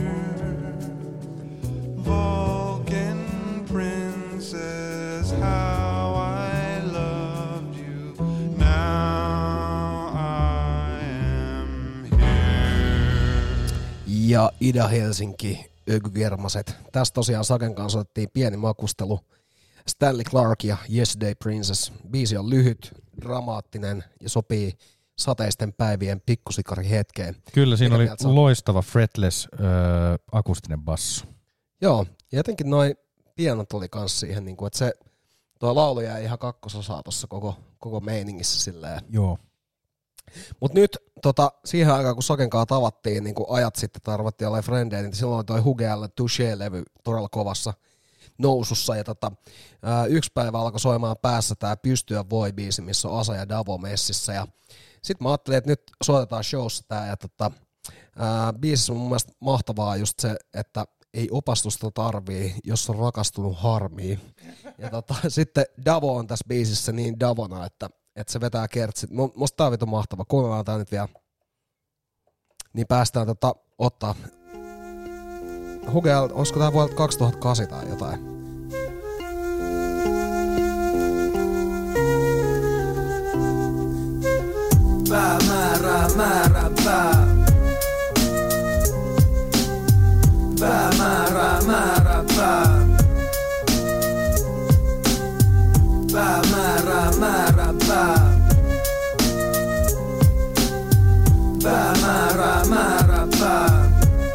Vulcan princess, how I loved you. Now I am here. Ja Ida-Helsinki, Ökygermaset. Tässä tosiaan Saken kanssa otettiin pieni makustelu. Stanley Clark ja Yesterday Princess. Biisi on lyhyt, dramaattinen ja sopii sateisten päivien pikkusikari hetkeen. Kyllä, siinä Mikä oli mieltä sä oot? loistava fretless akustinen basso. Joo, ja jotenkin noi pianot oli kans siihen, niin kuin, että se tuo laulu jäi ihan kakkososaa tuossa koko meiningissä silleen. Joo. Mut nyt siihen aikaan, kun Sakenkaan tavattiin niin kun ajat sitten, tarvattiin olemaan frendejä, niin silloin toi Hugealla Touché-levy todella kovassa nousussa. Ja yksi päivä alkoi soimaan päässä tää Pystyä voi -biisi, missä on Asa ja Davo messissä. Ja sit mä ajattelin, että nyt soitetaan showssa tää. Ja biisissä on mun mielestä mahtavaa just se, että ei opastusta tarvii, jos on rakastunut harmiin. Ja sitten Davo on tässä biisissä niin Davona, että se vetää kertsit. Musta tää on vitun mahtava. Kuunnellaan tää nyt vielä. Niin päästään ottaa. Hugel, olisiko tää vuodelta 2008 tai jotain? Päämäärä, määrä, pää. Päämäärä, määrä, pää. Päämäärä, määrä, pää. Päämäärä, määrä, pää.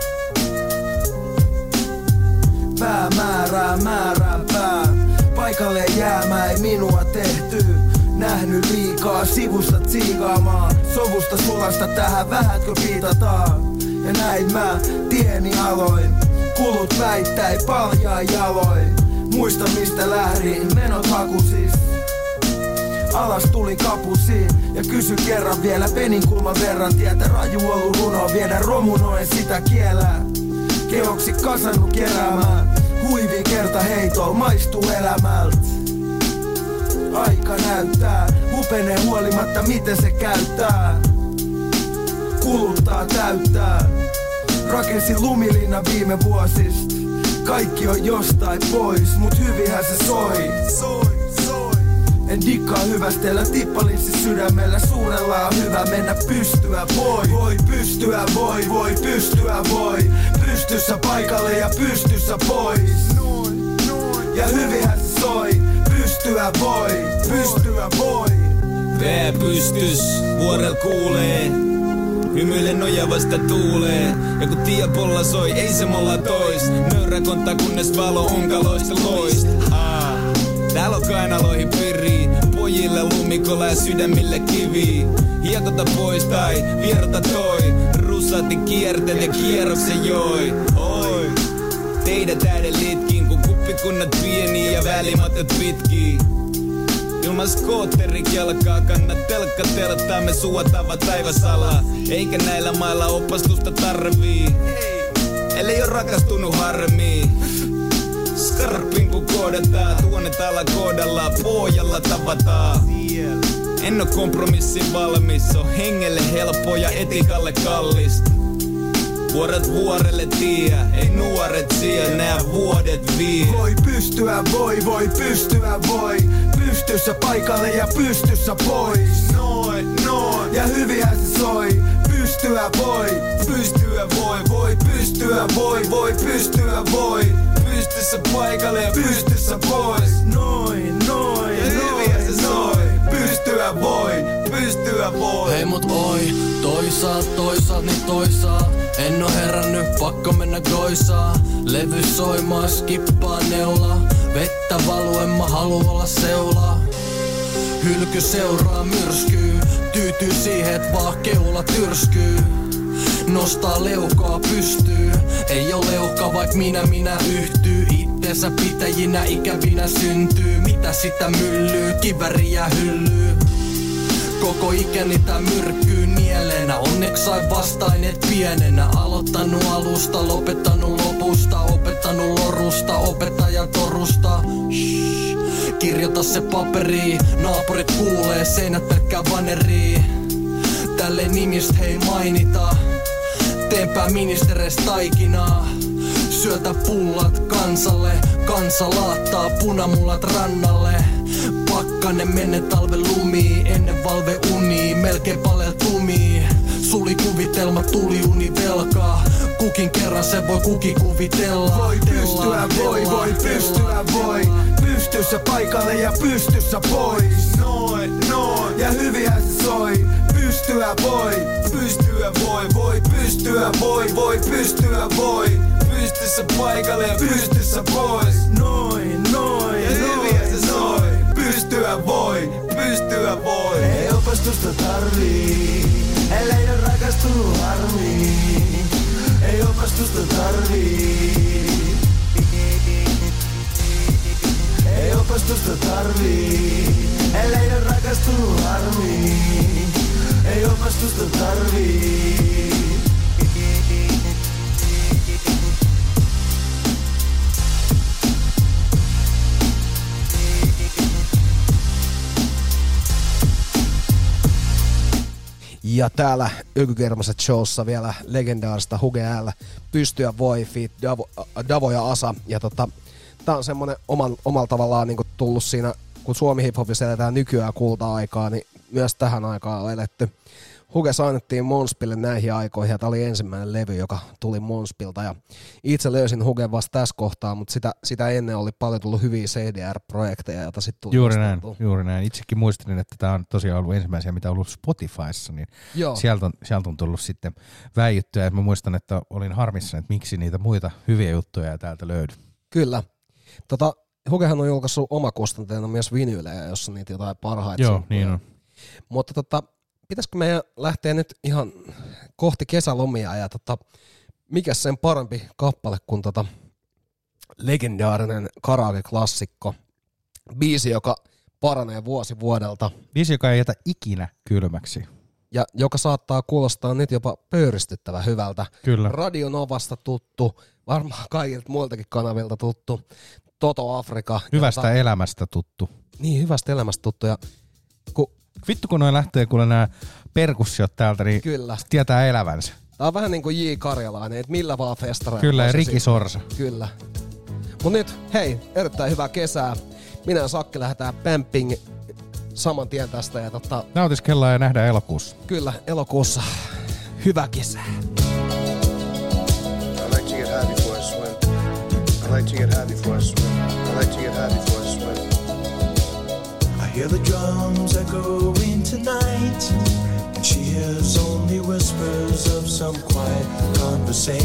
Päämäärä, määrä, pää. Paikalle jäämä ei minua tehty. Nähnyt liikaa sivusta tsiikaamaan. Sovusta sulasta tähän vähätkö piitataan. Ja näin mä tieni aloin. Kulut väittäi paljaa jaloin. Muista mistä lähdin, menot hakusis. Alas tuli kapusiin ja kysy kerran vielä peninkulman verran. Tietä raju ollut runo, viedä romunoen sitä kielää. Keoksi kasannut keräämään, huivi kerta heitoa maistuu elämältä. Aika näyttää, hupenee huolimatta miten se käyttää. Kuluttaa täyttää, rakensin lumilinna viime vuosista. Kaikki on jostain pois, mut hyvinhän se soi. En dikkaa hyvästellä tippalinssi sydämellä. Suunnella on hyvä mennä pystyä voi. Voi pystyä voi, voi pystyä voi. Pystyssä paikalle ja pystyssä pois. Ja hyvinhän se soi. Pystyä voi, pystyä voi. Pää pystys, vuorel kuulee. Hymyile nojavasta tuulee. Ja kun tiepolla soi, ei se molla tois. Nöyrä konta kunnes valo onkaloista loist. Täällä on kainaloihin piri. Pojille lumikolla ja sydämille kivi. Hiekota pois tai vierota toi. Russati kiertele kierroksen joi. Oi. Teidät äiden litkin, kun kuppikunnat pieni ja välimatot pitkii. Ilman skootterikelkaa kannat telkka telttaa, me suotava taivasala. Eikä näillä mailla opastusta tarvii, ellei oo rakastunut harmiin. Skarpin kun koodataan, tuonne täällä koodalla, pohjalla tavataan. En oo kompromissin valmis, on hengelle helppo ja etikalle kallista. Vuoret vuorelle tie, ei nuoret siellä, nää vuodet vie. Voi pystyä voi, voi pystyä voi. Pystyssä paikalle ja pystyssä pois. Noin, noin. Ja hyvinhän se soi. Pystyä voi, voi pystyä voi, voi pystyä voi. pystyssä paikalle ja pystyssä pois. Noin, noin, ja hyviä se soi. Pystyä voi. Hei mut oi, toisaat niin toisaat. En oo herännyt, pakko mennä goisaa. Levy soimaa, skippaa neula. Vettä valuen, mä haluun olla seulaa. Hylky seuraa myrskyy. Tyytyy siihen, et vaan keula tyrskyy. Nostaa leukaa pystyy. Ei oo leuka, vaik minä yhtyy. Itteensä pitäjinä ikävinä syntyy. Mitä sitä myllyy, kiväriä hyllyy. Koko ikäni tää myrkkyy nielenä. Onneks sain vastainet pienenä. Aloittanut alusta, lopettanut lopusta. Opettanut lorusta, opettajan torusta. Shhh, kirjoita se paperi. Naapurit kuulee, seinät pelkkää vanerii. Tälle nimistä hei mainita. Teenpä ministereistä taikinaa. Syötä pullat kansalle. Kansa laattaa punamullat rannalle. Pakkanen menne talven lumii. Ennen valve unii, melkein palel tumii. Suli kuvitelma, tuli uni velkaa. Kukin kerran se voi kuki kuvitella. Voi pystyä voi pystyä voi. Pystyssä paikalle ja pystyssä pois. Noin, ja hyviä se soi. Pystyä voi pystyä voi. Pystyssä paikalle ja pystyssä pois. Noin, ja hyviä se soi. Pystyä voi. Ei opastusta tarvii, ellei ole rakastunut harmiin. Ei opastusta tarvii. Ei opastusta tarvii, ellei ole rakastunut harmiin. Ei opastusta tarvii. Ja täällä Ykykermaset showssa vielä legendaarista Huge L, Pystyä voi, feat Davo ja Asa. Ja tää on semmonen omalla tavallaan niinku tullut siinä, kun Suomi hiphopissa eletään nykyään kulta-aikaa, niin myös tähän aikaan on eletty. Huge sainattiin Monspille näihin aikoihin ja tää oli ensimmäinen levy, joka tuli Monspilta. Ja itse löysin Hugen vasta tässä kohtaa, mutta sitä ennen oli paljon tullut hyviä CDR-projekteja, joita sitten tuli. Juuri näin. Itsekin muistelin, että tää on tosiaan ollut ensimmäisiä, mitä on ollut Spotifyssa, niin sieltä on tullut sitten väijyttyä. Ja mä muistan, että olin harmissani, että miksi niitä muita hyviä juttuja täältä löydy. Kyllä. Hugehan on julkaissut omakustanteena myös vinyylejä, jossa niitä jotain parhaita. Joo, niin on. Mutta pitäisikö meidän lähteä nyt ihan kohti kesälomia ja mikä sen parempi kappale kuin legendaarinen karaoke-klassikko. Biisi, joka paranee vuosi vuodelta. Biisi, joka ei jätä ikinä kylmäksi. Ja joka saattaa kuulostaa nyt jopa pöyristyttävän hyvältä. Kyllä. Radio Novasta tuttu, varmaan kaikilta muiltakin kanavilta tuttu. Toto Afrika. Hyvästä elämästä tuttu. Niin, hyvästä elämästä tuttu. Ja vittu kun noin lähtee kuule nää perkussiot täältä, niin kyllä. Tietää elävänsä. Tää on vähän niinku J. Karjalainen, että millä vaan festareilla. Kyllä, ja Riki Sorsa. Kyllä. Mut nyt, hei, erittäin hyvää kesää. Minä ja Sakki lähdetään Pamping saman tien tästä. Ja nautiskellaan ja nähdään elokuussa. Kyllä, elokuussa. Hyvää kesää. I like to get high before I swim. I like to get high before I swim. I like to get high before I swim. I hear the drums echoing tonight, and she hears only whispers of some quiet conversation.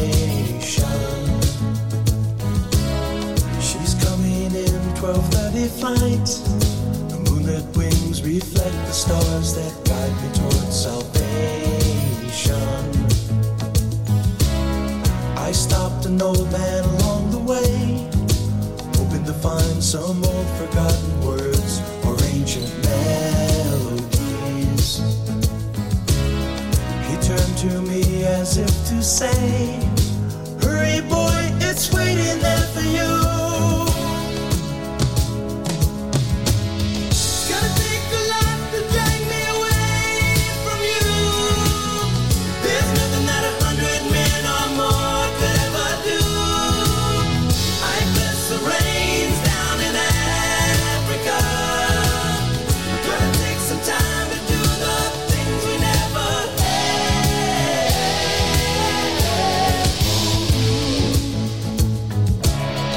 She's coming in 12:30 flight. The moonlit wings reflect the stars that guide me towards salvation. I stopped an old man along the way, hoping to find some old forgotten words or ancient melodies. He turned to me as if to say, hurry boy, it's waiting there for you. Gotta take a lot to drag me away from you. There's nothing that 100 men or more could ever do. I bless the rains down in Africa. Gonna take some time to do the things we never had.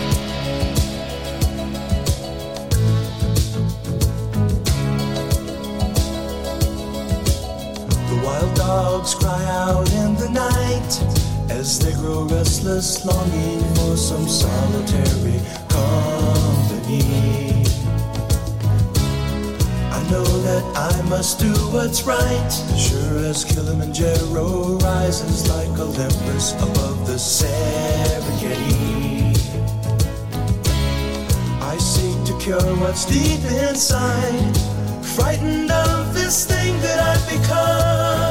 dogs cry out in the night as they grow restless, longing for some solitary company. I know that I must do what's right, sure as Kilimanjaro rises like Olympus above the Serengeti. I seek to cure what's deep inside, frightened of this thing that I've become.